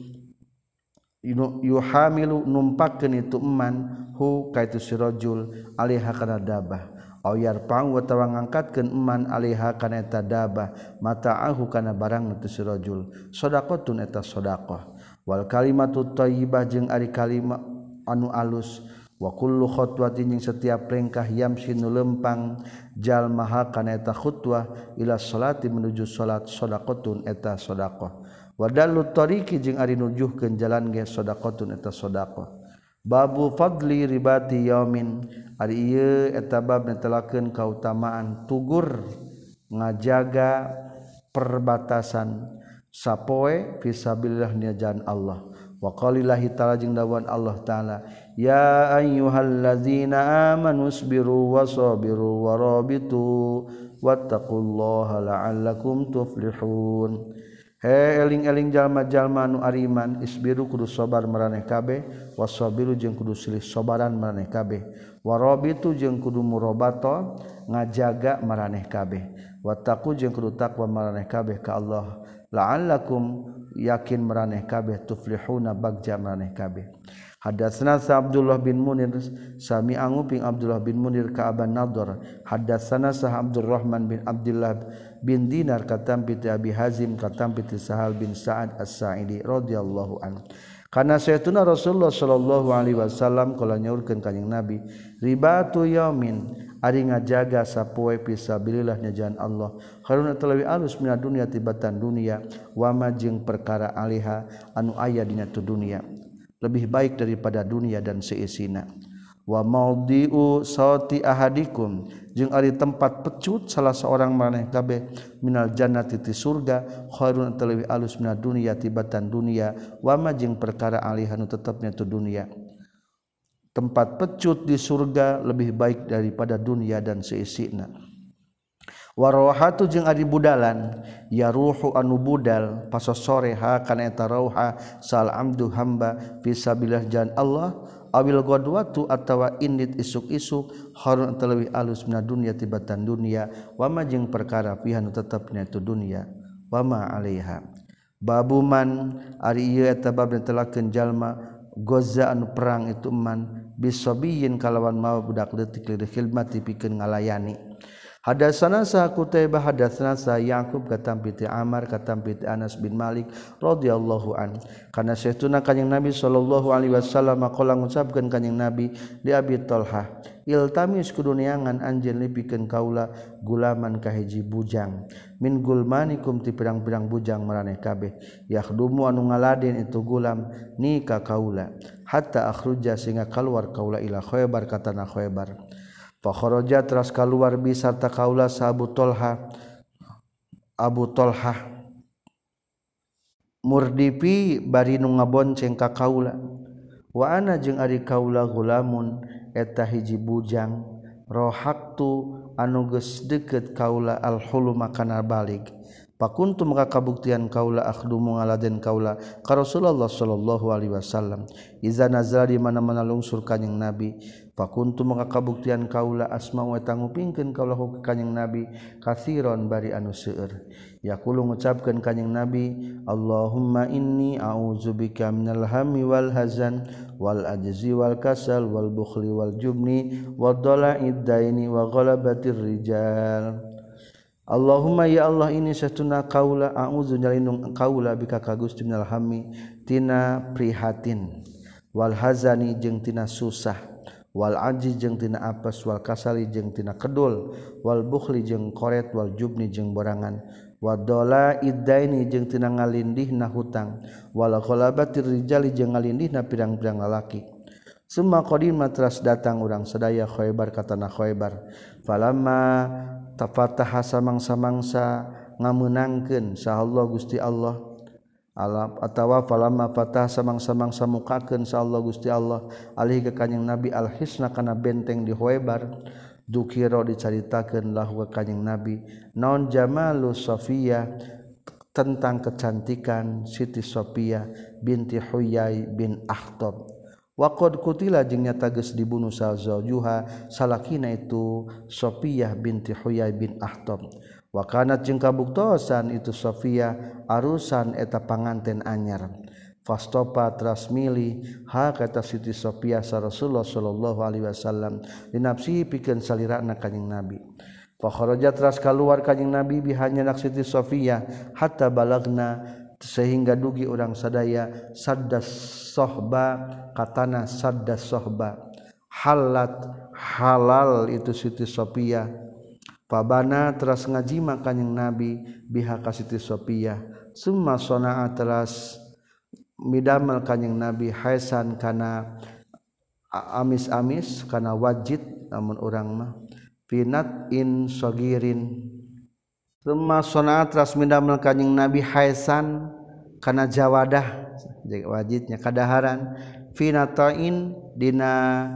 Speaker 1: yuhamilu numpakeun itu eman hu ka itu si rajul alaiha kana dabah au yarpang wa tawa ngangkatkeun eman alaiha kana eta dabah mata'ahu kana barang itu si rajul shadaqatun eta shadaqah wal kalimatu thayyibah jeung ari kalimat anu alus wa kullu khutwatin jeung setiap perengkah yamsi nu lempang jalmaha kana eta khutwah ila salati menuju salat shadaqatun eta shadaqah wa dallu tariqi jeung ari nujuhkeun jalan ge shadaqatun eta shadaqah babu fadli ribati yaumin ari ieu eta bab netelakeun kautamaan tugur ngajaga perbatasan sapoe fisabilillah nya jalan Allah wa qalillahi ta'ala jeung dawan Allah ta'ala ya ayyuhallazina amanu sabiru wasabiru warabitu wattaqullaha la'allakum tuflihun. He eling-eling jalma-jalma anu ariman isbiru kudu sabar maraneh kabeh wasabiru jeung kudu silih sabaran maraneh kabeh warabitu jeung kudu murabato ngajaga maraneh kabeh wattaqu jeung kudu takwa maraneh kabeh ka Allah la'allakum yakin maraneh kabeh tuflihuna bagja maraneh kabeh. Hadatsana sa Abdullah bin Munir sami anguping Abdullah bin Munir ka Aban Nadhr hadatsana sa Abdurrahman bin Abdullah bin Dinar katam piti Abi Hazim katam piti Sahal bin Sa'ad As-Sa'idi radhiyallahu anhu kana saytuna Rasulullah sallallahu alaihi wasallam kala nyaurkeun kanjing Nabi ribatu yaumin ari ngajaga sapoe fisabilillah nya jalan Allah khairun talawi alus mina dunya tibatan dunia wa ma jeung perkara aliha anu aya dina tu dunia lebih baik daripada dunia dan seisina wa maudiu sauti ahadikum jeung ari tempat pecut salah seorang maneh kabeh minal jannati ti surga khairun talawi alus mina dunya tibatan dunia wa ma jeung perkara aliha anu tetepna tu dunia tempat pecut di surga lebih baik daripada dunia dan seisina warawahatu jeung ari budalan ya ruhu anu budal pasosore ha kana eta rauha sal amdu hamba fisabilillah jalan Allah awil ghadwatu atawa indit isuk-isuk harun talawi alus mina dunya tibatan dunia wa ma jeung perkara fiha nu tetepna itu dunia wa ma alaiha babuman ari ieu eta bab netelakeun jalma goza anu perang itu man bisabiyin kalawan mawa budak leutik li khidmati pikeun ngalayani. Hadatsana sa Qutaibah hadatsana sa Yaqub katam piti Amar katam piti Anas bin Malik radhiyallahu an kana saestuna kanjing Nabi sallallahu alaihi wasallam qala ngucapkeun kanjing Nabi di Abi Talhah iltamis kudu neangan anjeun lipikeun kaula gulaman ka hiji bujang min gulmanikum ti pirang-pirang bujang maraneh kabeh yakhdumu anu ngaladen itu gulam ni ka kaula hatta akhruja sehingga kaluar kaula ila Khaybar katana Khaybar fa kharaja teras kaluar bi sarta kaula sa Abu Talhah murdipi bari nu ngabonceng ka kaula wa ana jeung ari kaula gulamun eta hiji bujang rohaktu anu geus deukeut kaula alhuluma kana balik pakuntu maka kabuktian kaula akhdumu ngaladen kaula ka Rasulullah sallallahu alaihi wasallam iza nazala di mana-mana lungsur kanjing Nabi pakuntu maka kabuktian kaula asma'u eta ngupingkeun kaula ka kanjing Nabi katsiron bari anu seueur yaqulu ngucapkeun kanjing Nabi Allahumma inni a'udzubika minal hammi wal hazan wal ajzi wal kasal wal bukhli wal jubni wad dala'id daini wa ghalabatir rijal Allahumma ya Allah ini satuna kaula a'udzu nyalindung kaula bika ka Gusti minal hammi tina prihatin wal hazani jeung tina susah wal aji jeung tina apes wal kasali jeung tina kedul wal bukhli jeung koret wal jubni jeung borangan wadola iddaini jeung tina ngalindihna hutang wal ghalabatir rijali jeung ngalindihna pirang-pirang lalaki. Summa qadima teras datang urang sadaya Khaybar ka tanah Khaybar falamma tafataha samang-samangsa ngameunangkeun sahallahu Gusti Allah alam atawa falamma fatah samang-samang samukakeun insyaallah Gusti Allah alih ka kanjing Nabi al-hisna kana benteng di Khaybar dukira dicaritakeun lahu ka kanjing Nabi naon jamalu Safiyah tentang kecantikan Siti Safiyah binti Huyai bin Akhtab wa qad qutila jeung nyata geus dibunuh zawjuha salakina itu Safiyah binti Huyai bin Akhtab wa kanat jeung kabuktosan itu Safiyah arusan eta panganten anyar fastopa teras milih ha kata Siti Safiyah sa Rasulullah sallallahu alaihi wasallam dinapsihi pikeun salirana kanjing Nabi fa kharaja teras kaluar kanjing Nabi bihanya Siti Safiyah hatta balagna sehingga dugi urang sadaya saddas sohba katana saddas sohba halat halal itu Siti Safiyah fabana teras ngajima kanjing Nabi biha ka Siti Safiyah summa sonaa teras midamel kanjing Nabi haisan kana amis-amis kana wajid namun urang mah finat in sagirin summa sonaa teras midamel kanjing Nabi haisan kana jawadah wajidnya kadaharan finatain dina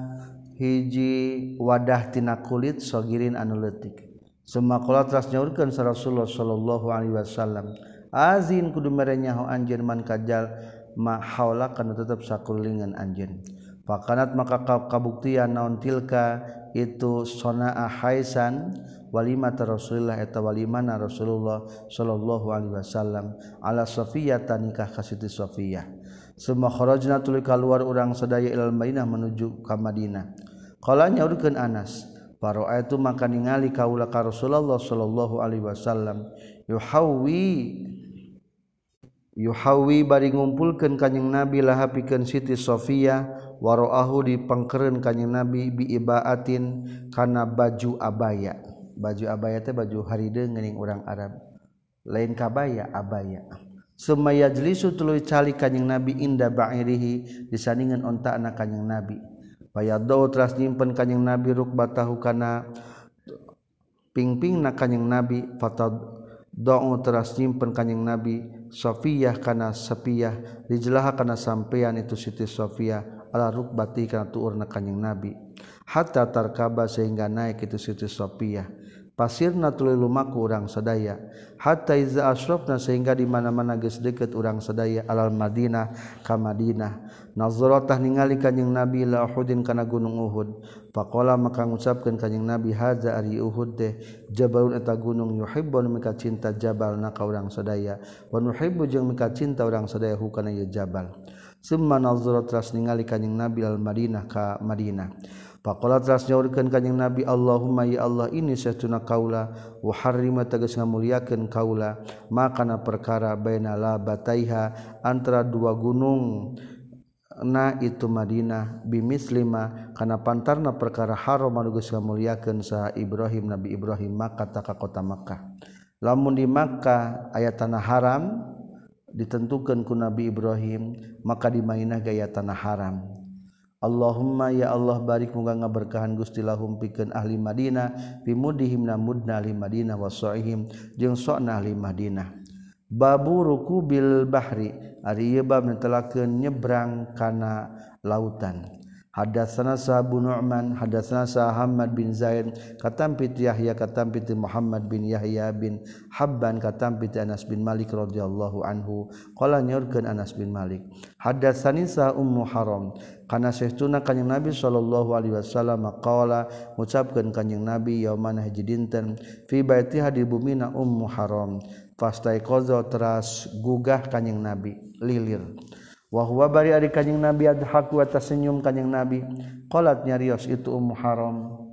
Speaker 1: hiji wadah tina kulit sagirin anu leutik. Summa qala teras nyaurkeun sa Rasulullah sallallahu alaihi wasallam azin kudu mere nyaho anjeun man kajal ma haula kana tetep sakulingan anjeun fakanat maka kabuktian naon tilka itu sonaa haisan walimah Rasulullah eta walimana Rasulullah sallallahu alaihi wasallam ala Safiyah nikah ka Siti Safiyah. Summa kharajna tuluy kaluar urang sadaya ilal Madinah menuju ka Madinah qala nyaurkeun Anas Paro'aitu maka ningali kaula ka Rasulullah sallallahu alaihi wasallam yuhawi bari ngumpulkeun kanjing Nabi laha pikeun Siti Safiyah waraahu dipangkereun kanjing Nabi bi ibaatin kana baju abaya. Baju abaya teh baju harideung geuning urang Arab. Lain kabaya abaya. Summa yajlisu tuluy cali kanjing Nabi inda ba'irihi disandingan ontaana kanjing Nabi. Payadau teras nyimpen kanjing Nabi rukbatahu kana pingpingna kanjing Nabi fatadau teras nyimpen kanjing Nabi Safiyah kana Safiyah rijlaha kana sampean itu Siti Safiyah ala rukbati kana tuurna kanjing Nabi hatta tarkaba sehingga naik itu Siti Safiyah pasirna tuluy lumaku urang sadaya hatta iza asrafna sehingga di mana-mana geus deukeut urang sadaya alal Madinah ka Madinah nazaratah ningali kanjing Nabi la Uhudin kana gunung Uhud faqala maka ngucapkeun kanjing Nabi haza ari Uhud teh jabalun eta gunung yuhibbun mika cinta jabalna ka urang sadaya wa nuhibbu jeung mika cinta urang sadaya hu kana ieu jabal summa nazarat teras ningali kanjing Nabi al Madinah ka Madinah faqala teras nyaurkeun kanjing Nabi Allahumma ya Allah ini satuna kaula wa harrima tegas ngamuliakeun kaula makana perkara baina labataiha antara dua gunung na itu Madinah bimislima kana pantarna perkara haram anu geus ngamuliakeun saha Ibrahim Nabi Ibrahim Makkah ta ka kota Makkah lamun di Makkah aya tanah haram ditentukeun ku Nabi Ibrahim maka di Madinah gaya tanah haram. Allahumma ya Allah barik muga ngaberkahan Gusti lahum pikeun ahli Madinah fi mudihim namudna ahli Madinah wa sa'ihim jeung sa'na ahli Madinah. Babu rukubil bahri ari ieu bab netelakeun nyebrang kana lautan. Hadatsana Abu Nu'man hadatsana Muhammad bin Zaid katampit Yahya katampit Muhammad bin Yahya bin Habban katampit Anas bin Malik radhiyallahu anhu qala nyorkeun Anas bin Malik hadatsani sa Ummu Haram kana saestuna kanjing Nabi sallallahu alaihi wasallam qala ngucapkeun kanjing Nabi yaumana hiji dinten fi baitiha di bumina Ummu Haram fastaiqaza teras gugah kanjing Nabi lilir wa huwa bari ari kanjing Nabi adhaku wa tasenyum kanjing Nabi qalat nyarios itu Ummu Haram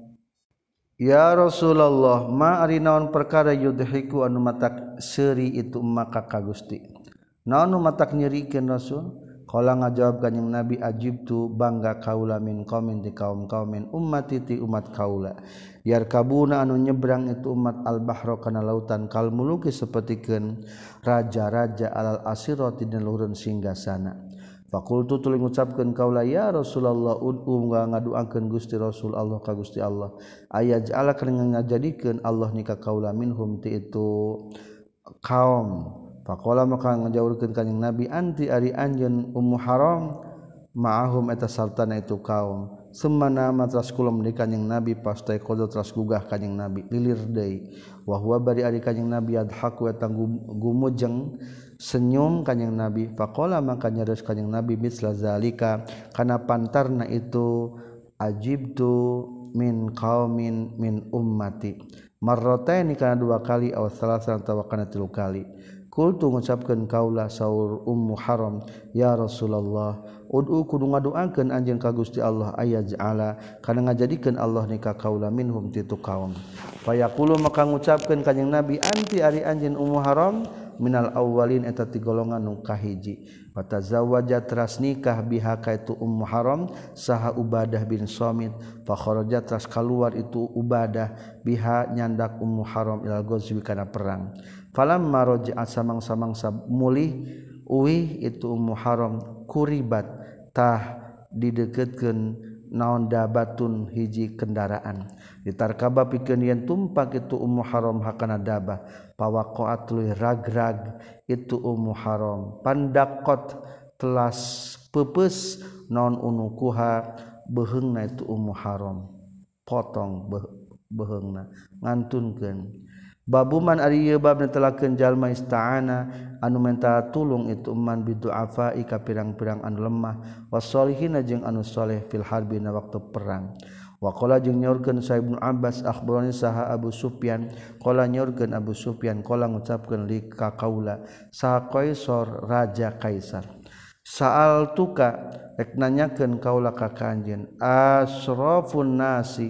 Speaker 1: ya Rasulullah ma ari naon perkara yudhiku anu matak seuri itu maka ka Gusti naon nu matak nyerikeun Rasul qala ngajawab kanjing nabi ajibtu bangga kaula min qaumin di kaum-kaum min ummati ti umat kaula yarkabuna anu nyebrang itu umat al-bahra kana lautan kal muluki sapertikeun raja-raja alal asirati dina luhurun singgasana faqultu tuluy ngucapkeun kaula ya Rasulullah ud'u ngaduakeun Gusti Rasul Allah ka Gusti Allah ayaj'ala kana ngajadikeun Allah nika kaula minhum ti itu kaum faqala maka ngajawurkeun kanjing Nabi anti ari anjeun Ummu Haram ma'ahum eta sartana itu kaum semana matras kula meuni kanjing Nabi pastai qodot ras gugah kanjing Nabi lilir deui wa huwa bari ari kanjing Nabi adhaku eta gumujeng senyum kanjing Nabi faqala maka nyareus kanjing Nabi misla zalika kana pantarna itu ajibtu min qaumin min ummati marrataini kana dua kali aw salasan atawa kana tilu kali kultu ngucapkeun kaula saur Ummu Haram ya Rasulullah ud'u kudu ngaduakeun anjeun ka Gusti Allah ayaj'ala kana ngajadikeun Allah nika kaula minhum titu kaum fayaqulu maka ngucapkeun kanjing Nabi anti ari anjeun Ummu Haram minal awwalin eta ti golongan nu kahiji fatazawwaja teras nikah biha ka itu Ummu Haram saha Ubadah bin Samit fa kharaja teras kaluar itu Ubadah biha nyandak Ummu Haram ilal ghazwi kana perang falamma raja'a samang-samang mulih uih itu Ummu Haram kuribat tah dideukeutkeun naon dabatun hiji kendaraan ditarkaba pikeun yen tumpak itu Ummu Haram hakana dabah pawaqaat tuluy ragrag itu Ummu Haram pandaqot telas peupeus naon unukuha beheungna itu Ummu Haram potong beheungna ngantunkeun babuman ari ieu bab netelakeun jalma ista'ana anu minta tulung itu man bidu'afa ka pirang-pirang anu lemah wasolihin jeung anu saleh fil harbi na waktu perang wa qala jeung nyaurkeun sa Ibnu Abbas akhbarani saha Abu Sufyan qala nyaurkeun Abu Sufyan qala ngucapkeun li ka kaula sa Qaisar raja Kaisar saal tuka rek nanyakeun kaula ka kanjeun asrafun nasi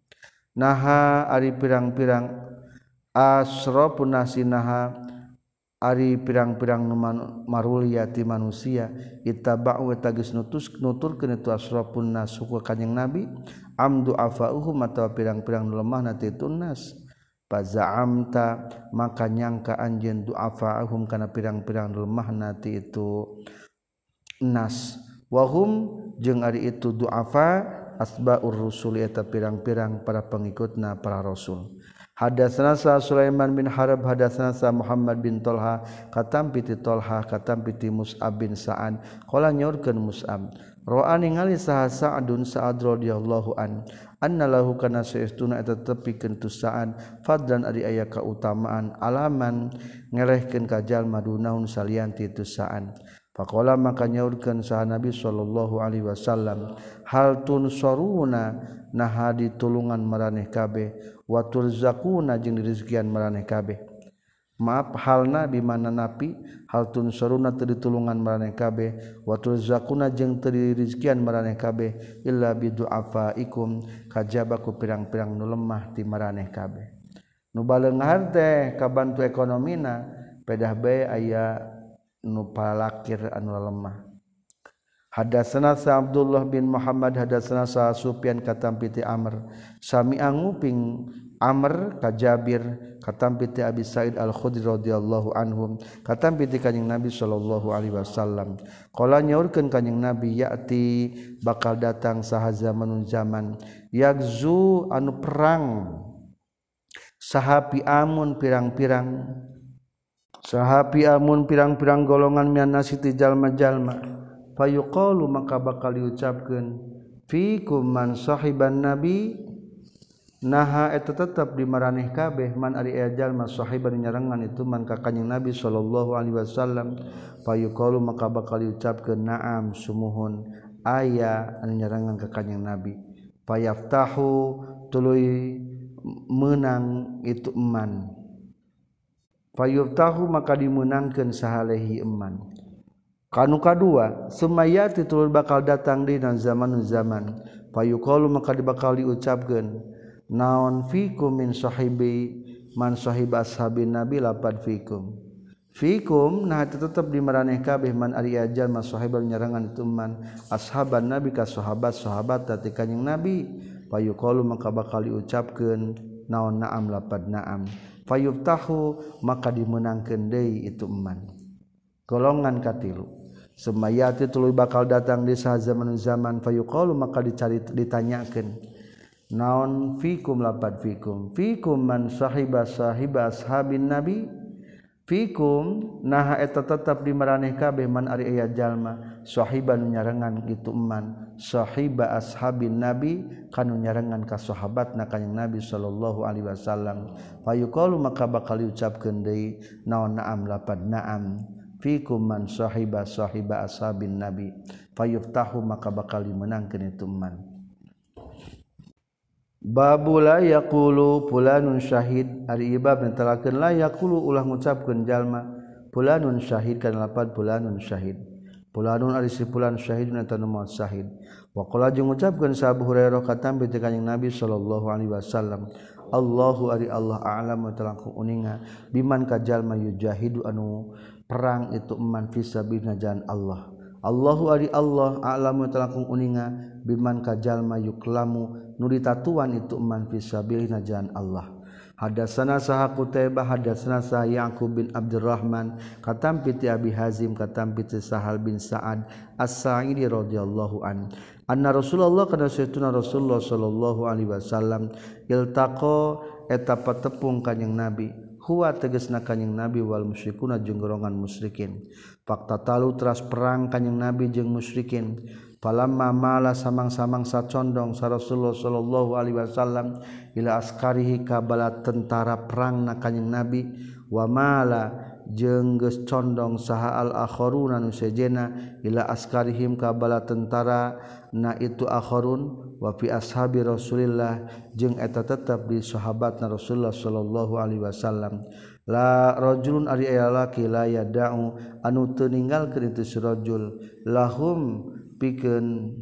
Speaker 1: naha ari pirang-pirang asrafun nasi naha ari pirang-pirang marulia ti manusia ittaba'u eta geus nuturkeun itu asrafun nas ku kanjing Nabi amdu afauhum atawa pirang-pirang lemahna ti tunnas faza'amta maka nyangka anjeun du'afaahum kana pirang-pirang lemahna ti itu nas wahum jeung ari itu du'afa asbaur rusul eta pirang-pirang para pengikutna para rasul hadatsana sa Sulaiman bin Harb hadatsana sa Muhammad bin Talha katam piti Talha katam piti Mus'ab bin Sa'ad qala nyaurkeun Mus'ab ra'a ningali saha Sa'dun Sa'ad radhiyallahu an anna lahu kana saestuna eta tepikeun tu Sa'ad fadlan ari aya kautamaan alaman ngelehkeun ka jalma dunaun salianti tu Sa'ad faqala maka nyaurkeun saha Nabi sallallahu alaihi wasallam hal tunsaruna naha ditulungan maraneh kabeh wa turzaquna jeung dirizkian maraneh kabeh maaf halna di mana napi hal tunsaruna teu ditulungan maraneh kabeh wa turzaquna jeung teu dirizkian maraneh kabeh illa bidu'afaikum kajaba ku pirang-pirang nu lemah ti maraneh kabeh nu baleunghar teh kabantu ekonomina pedah bae aya nu palakir anu lemah hadatsana sa Abdullah bin Muhammad hadatsana sa Sufyan katam piti Amr sami anguping Amr ka Jabir katam piti Abi Sa'id Al-Khudri radhiyallahu anhum katam piti kanjing Nabi sallallahu alaihi wasallam qala nyaurkeun kanjing Nabi ya'ti bakal datang saha zamanun zaman yagzu anu perang sahapi amun pirang-pirang golongan mian nasiti jalma-jalma fayuqalu maka bakal diucapkeun fikum man sahiban nabi naha eta tetep di maraneh kabeh man ari jalma sahiban nyarengan itu man ka kanjing Nabi sallallahu alaihi wasallam fayuqalu maka bakal diucapkeun na'am sumuhun aya anu nyarengan ka kanjing Nabi fayaftahu tuluy meunang itu eman fayuftahu maka dimenangkeun sahalehi eman kanu kadua sumayati tulur bakal datang dina zaman fayuqalu maka bakal diucapkeun naon fikum min sahibi man sahib ashabin nabi lapad fikum fikum nah tetap di maraneh kabeh man ari ajal masahibal nyarangan itu man ashaban nabi ka sahabat tati kanjing nabi fayuqalu maka bakal diucapkeun naon na'am lapad na'am fayuftahu maka dimenangkeun deui itu man golongan katilu semayati tuluy bakal datang di zaman fayuqalu maka ditanyakeun naon fikum lapad fikum man sahiba ashabin nabi fikum nah eta tetap di maraneh kabeh man ari aya jalma sahiban nyarengan kitu man sahiba ashabin nabi kanu nyarengan ka sahabatna kanjing nabi sallallahu alaihi wasallam fayuqalu maka bakal diucapkeun deui naon na'am lapad na'am fikum man sahiba ashabin nabi fayuftahu maka bakal dimenangkeun itu man Babu la yaqulu fulanun syahid ari ibab netelakeun la yaqulu ulah ngucapkeun jalma fulanun syahid kana lapad fulanun syahid fulanun ari si fulan syahidun eta nu maot syahid wa qala jeung ngucapkeun sa Abu Hurairah katam ti kanjing Nabi sallallahu alaihi wasallam Allahu ari Allah a'lamu talangku uninga biman ka jalma yujahidu anu perang itu man fisabilillah jalan Allah Allahu ari Allah a'lamu talangku uninga biman ka jalma yuklamu nu ditatuan itu man fisabilillah jalan Allah hadatsana saha Qutaibah hadatsana saha Yaqub bin Abdurrahman katam piti Abi Hazim katam piti Sahal bin Sa'ad As-Sa'idi radhiyallahu an anna Rasulullah kana sayyiduna Rasulullah sallallahu alaihi wasallam iltaqa eta patepung kanjing Nabi huwa tegasna kanjing Nabi wal musyrikuna jeung golongan musyrikin fakta talu teras perang kanjing Nabi jeung musyrikin falamma mala samang-samang sacondong sa Rasulullah sallallahu alaihi wasallam ila askarihi ka bala tentara perangna kanjing Nabi wa mala jeung geus condong saha al akharuna nu sejena ila askarihim ka bala tentara na itu akharun wa fi ashabi Rasulillah jeung eta tetep di sahabatna Rasulullah sallallahu alaihi wasallam la rajulun ari aya laki la yada'u anu teu ninggalkeun itu si rajul lahum pikeun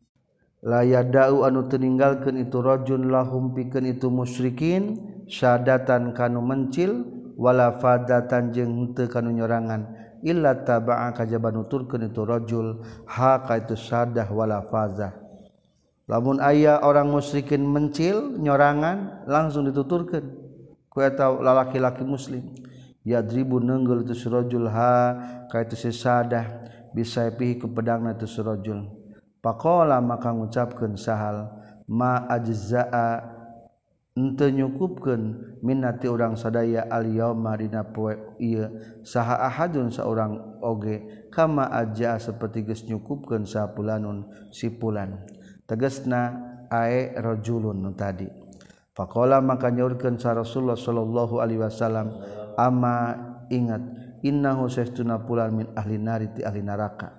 Speaker 1: la yada'u anu teu ninggalkeun itu rajul lahum pikeun itu musyrikin syadatan kanu mencil wala fadatan jeung teu kanu nyorangan illa taba'a kajaba nuturkeun itu rajul ha ka itu sadah wala fazah lamun aya orang musyrikin mencil nyorangan langsung dituturkeun ku eta lalaki-laki muslim yadribu neunggel itu si rajul ha ka itu si sadah bisa pihi ku pedangna itu si rajul faqala maka ngucapkeun Sahal ma ajza'a henteu nyukupkeun minnati urang sadaya al yauma dina poe ieu saha ahadun saurang oge kama aja saperti geus nyukupkeun sapulanun si pulan tegasna ae rajulun nu tadi faqala maka nyaurkeun sa Rasulullah sallallahu alaihi wasallam ama ingat innahu saestuna pulan min ahli nari ti ahli neraka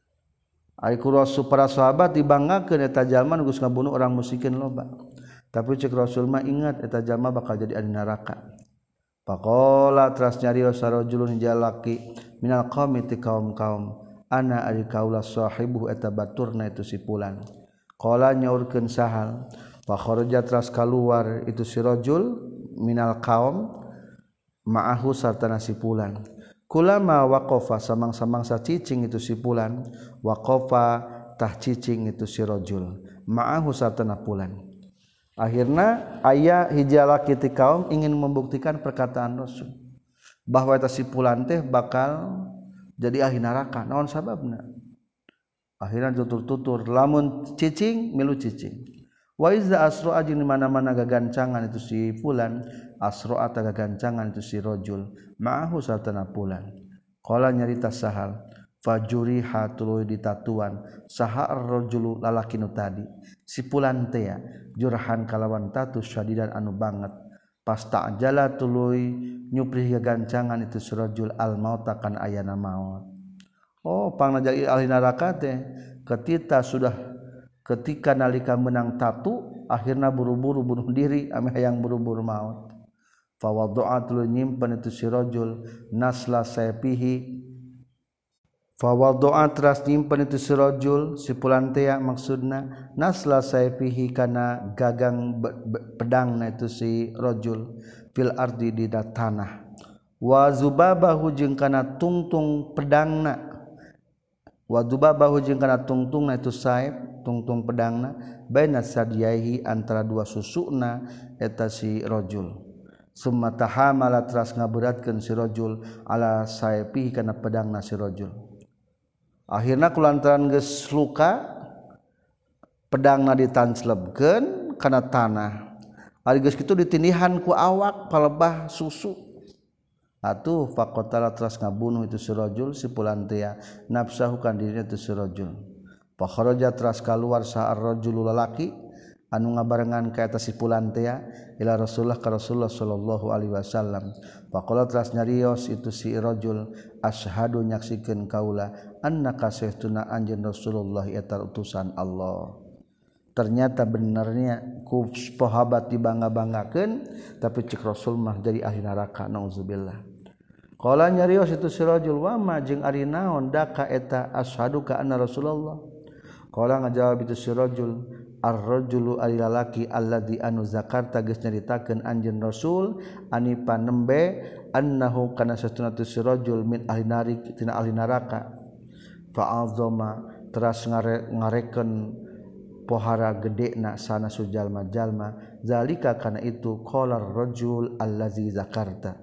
Speaker 1: ai ku rasul para sahabat dibanggakeun eta jalma nu geus ngabunuh orang musyrikin loba tapi cek Rasul mah ingat eta jalma bakal jadi ahli neraka faqala teras nyarios sarajulun jalaki minal qaumi ti kaum-kaum ana ari kaula sahibu eta baturna itu si pulan qala nyaurkeun Sahal fa kharaja teras kaluar itu si rajul minal qaum ma'ahu sartana si pulan kulama waqafa samang-samang sacicing itu si pulan waqafa tah cicing itu si rajul ma'ahu sartana pulan akhirna aya hiji lalaki ti kaum ingin membuktikan perkataan Rasul bahwa eta si pulan teh bakal jadi ahli neraka naon sababna akhirna tutur-tutur lamun cicing milu cicing wa iza asra jeung mana-mana gagancangan itu si fulan asra ta gagancangan itu si rajul ma'ahu sartana pulan qala nyarita Sahal fajuriha tuluy ditatuan saha ar-rajulu lalaki nu tadi si pulan teh jurhan kalawan tatu syadidan anu banget pas ta'jala tuluy nyuprih gagancangan itu si rajul al mauta kan ayana maut oh pangna jadi ahli neraka teh ketika nalika menang tatu akhirna buru-buru bunuh diri ame hayang buru-buru maut fa wada'at lu nyimpen itu si rajul nasla sayfihi fa wada'at ras nyimpen itu si rajul si pulan teh maksudna nasla sayfihi kana gagang pedangna itu si rajul fil ardi di tanah wa zubabahu jeung kana tungtung pedangna wa zubabahu jeung kana tungtungna itu saib tungtung pedangna baina sadyaihi antara dua susuna eta si rajul summa tahamala teras ngaberatkeun si rajul ala saipihi kana pedangna si rajul akhirna kulantaran geus luka pedangna ditanslebkeun kana tanah ari geus kitu ditindihan ku awak palebah susu atuh faqatala teras ngabunuh itu si rajul si pulantia nafsahu kan dirina itu si rajul fa kharaja teras kaluar sa ar-rajul lalaki anu ngabarengan ka eta si pulantia ila Rasulullah ka Rasulullah sallallahu alaihi wasallam faqala teras nyarios itu si rajul asyhadu nyaksikeun kaula annaka sayyiduna anjeun Rasulullah eta utusan Allah. Ternyata benarnya ku sahabat dibangga-banggakeun tapi cik Rasul mah jadi ahli neraka naudzubillah. Qala nyarios itu si rajul wa ma jeung ari naon daka eta asyhadu ka anna Rasulullah. Qala ngajawab itu si rajul ar-rajulu ari lalaki alladzi anu zakarta geus nyaritakeun anjeun Rasul ani panembe annahu kana satuna tu si rajul min ahli nari tina ahli neraka. Fa azama teras ngarekeun pohara gedena sana sujalma-jalma zalika kana itu qalar rajul allazi zakarta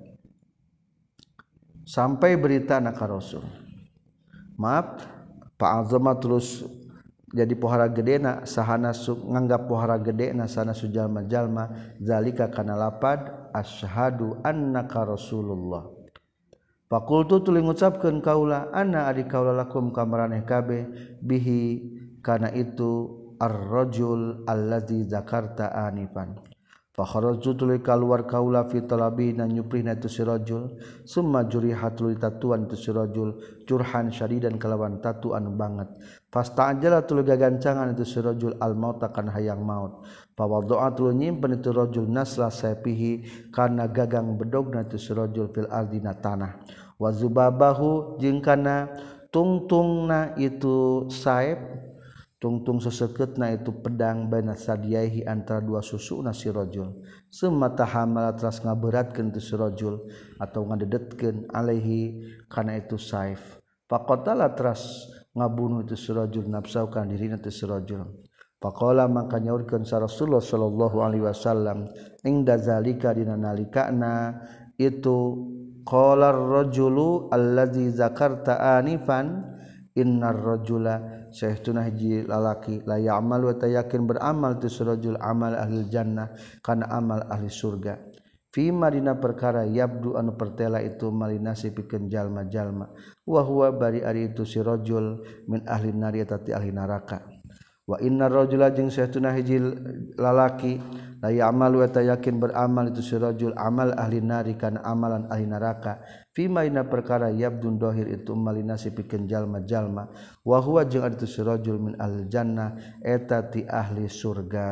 Speaker 1: sampai berita ka Rasul maaf Pak Azama terus jadi pohara gedena sahana nganggap pohara gedena sana sujalma-jalma zalika kana lapad asyhadu annaka Rasulullah faqultu tuluy ngucapkeun kaula anna ari kaula lakum kamaraneh kabeh bihi kana itu ar-rajul allazi zakarta anifan fa kharajtu tuluy kaluar kaula fi talabi na nyuprihna tu si rajul summa jurihat tuluy tatuan tu si rajul jurhan syadidan kalawan tatu anu banget fasta'ajala tuluy gagancangan itu si rajul al mauta kana hayang maut fa wadha'a tuluy nyimpen itu rajul nasla sapihi kana gagang bedogna tu si rajul fil ardina tanah wa zubabahu jeung kana tungtungna itu saib tungtung seseketna itu pedang baina sadiyaihi antara dua susuna si rajul summa tahamala teras ngaberatkeun tu si rajul atau ngadedetkeun alaihi kana itu saif faqatala teras ngabunuh itu si rajul nafsahu kana dirina tu si rajul faqala maka nyaurkeun sa Rasulullah sallallahu alaihi wasallam ingda zalika dina nalikana itu qala ar-rajulu allazi zakarta anifan innar rajula sayyiduna hiji lalaki la ya'mal wa tayakin beramal tu rajul amal ahli jannah kana amal ahli surga fi madina perkara yabdu anu pertela itu malinasi pikeun jalma-jalma wa huwa bari ari itu si rajul min ahli nari tati ahli neraka wa innar rajula jeung sayyiduna hiji lalaki la ya'mal wa tayakin beramal itu si rajul amal ahli nari kana amalan ahli neraka fima ina perkara yabdun dohir itu malinasi pikeun jalma-jalma wa huwa jeung ari tu si rajul min ahli jannah eta ti ahli surga.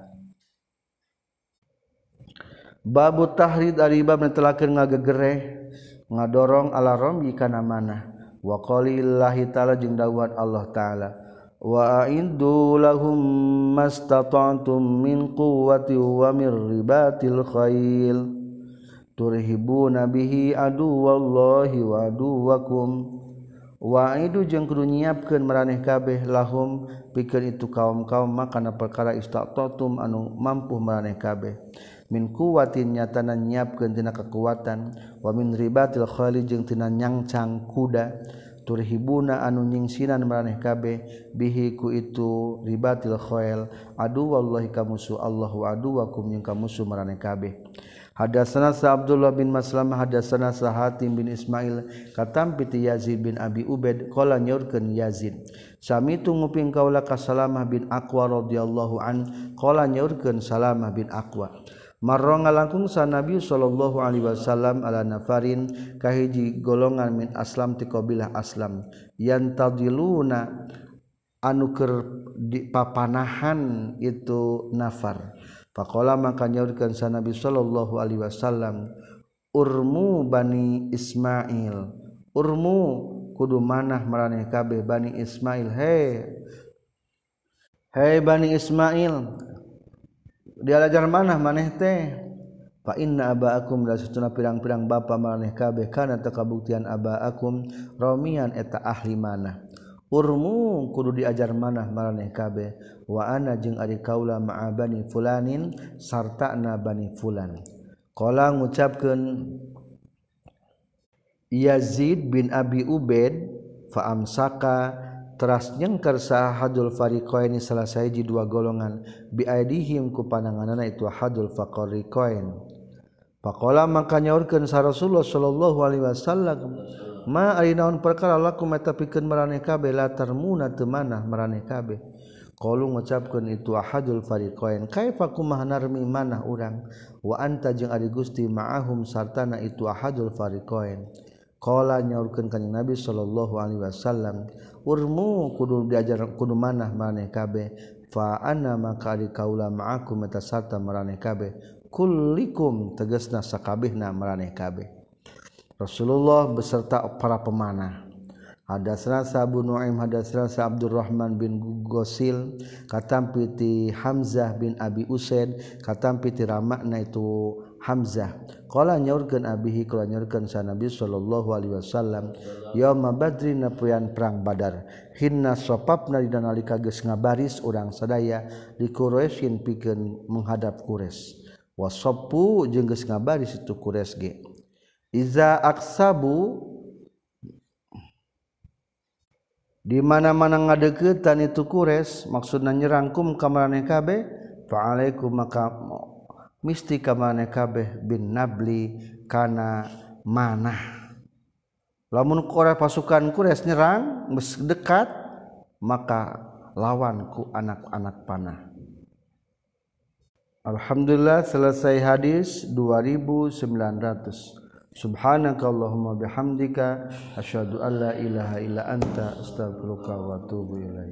Speaker 1: Babu tahrid ari bab netelakeun ngagegereh ngadorong ala romyi kana manah wa qalillahi ta'ala jeung dawuhan Allah taala wa a'iddu lahum mastata'tum min quwwati wa min ribatil khail turhibuna bihi aduwallahi wa aduwakum wa aidu jeung kudu nyiapkeun maraneh kabeh lahum pikeun itu kaum-kaum makana perkara istatatum anu mampu maraneh kabeh min quwwatin nyatana nyiapkeun tina kekuatan wa min ribatil khali jeung tina nyangcang kuda turhibuna anu nyingsinan maraneh kabeh bihi ku itu ribatil khail aduwallahi kamusu Allah wa aduwakum jeung kamusu maraneh kabeh. Hadatsana Abdullah bin Maslamah hadatsana Hatim bin Ismail katam piti Yazid bin Abi Ubaid qala nyaurkeun Yazid sami tu nguping kaula ka Salamah bin Aqwa radhiyallahu an qala nyaurkeun Salamah bin Aqwa marra ngalangkung sa Nabi sallallahu alaihi wasallam ala nafarin kahiji golongan min aslam ti qabilah aslam yantadiluna anu keur papanahan itu nafar faqala maka nyaurkeun sa Nabi sallallahu alaihi wasallam urmu bani Ismail urmu kudu manah maraneh kabeh bani Ismail hei bani Ismail dialajar manah maneh teh fa inna abaakum la satuna pirang-pirang bapa maraneh kabeh kana teu kabuktian abaakum ramian eta ahli manah urmu kudu diajar manah maraneh kabeh wa ana jeung ari kaula ma'a bani fulanin sartana bani fulan qala ngucapkeun Yazid bin Abi Ubaid fa amsaka teras nyengker sahadul fariqaini salah sahiji dua golongan bi aidihim ku pandanganna itu hadul fariqain faqala maka nyaurkeun sa Rasulullah sallallahu alaihi wasallam ma ari naon perkara lakum eta pikeun maraneh kabeh la tarmuna teu manah maraneh kabeh qalu ngucapkeun itu ahadul fariqain kaifa kumaha narmi manah urang wa anta jeung ari Gusti ma'ahum sartana itu ahadul fariqain qala nyaurkeun kanjing Nabi sallallahu alaihi wasallam urmu kudu diajar kudu manah maraneh kabeh fa ana maka ari kaula ma'akum eta sarta maraneh kabeh kullikum tegasna sakabehna maraneh kabeh Rasulullah beserta para pemanah hadatsana Abu Nuaim hadatsana Abdurrahman bin Ghusil katampi ti Hamzah bin Abi Usaid katampi ti ramakna itu Hamzah qala nyaurkeun abihi qala nyaurkeun sa Nabi sallallahu alaihi wasallam yauma badrin poean perang Badar hinna sopapna dina nalika geus ngabaris urang sadaya di Quraisyin pikeun menghadap Quraisy wasappu jeung geus ngabaris itu Quraisy ge iza aksabu di mana-mana ngadeuketan itu Quraisy maksudna nyerangkum ka maraneh kabeh fa alaikum maka misti ka maraneh kabeh bin nabli kana manah lamun pasukan Quraisy nyerang geus dekat maka lawan ku anak-anak panah. Alhamdulillah selesai hadis 2900. Subhanakallahumma bihamdika asyhadu an la ilaha illa anta astaghfiruka wa atubu ilaik.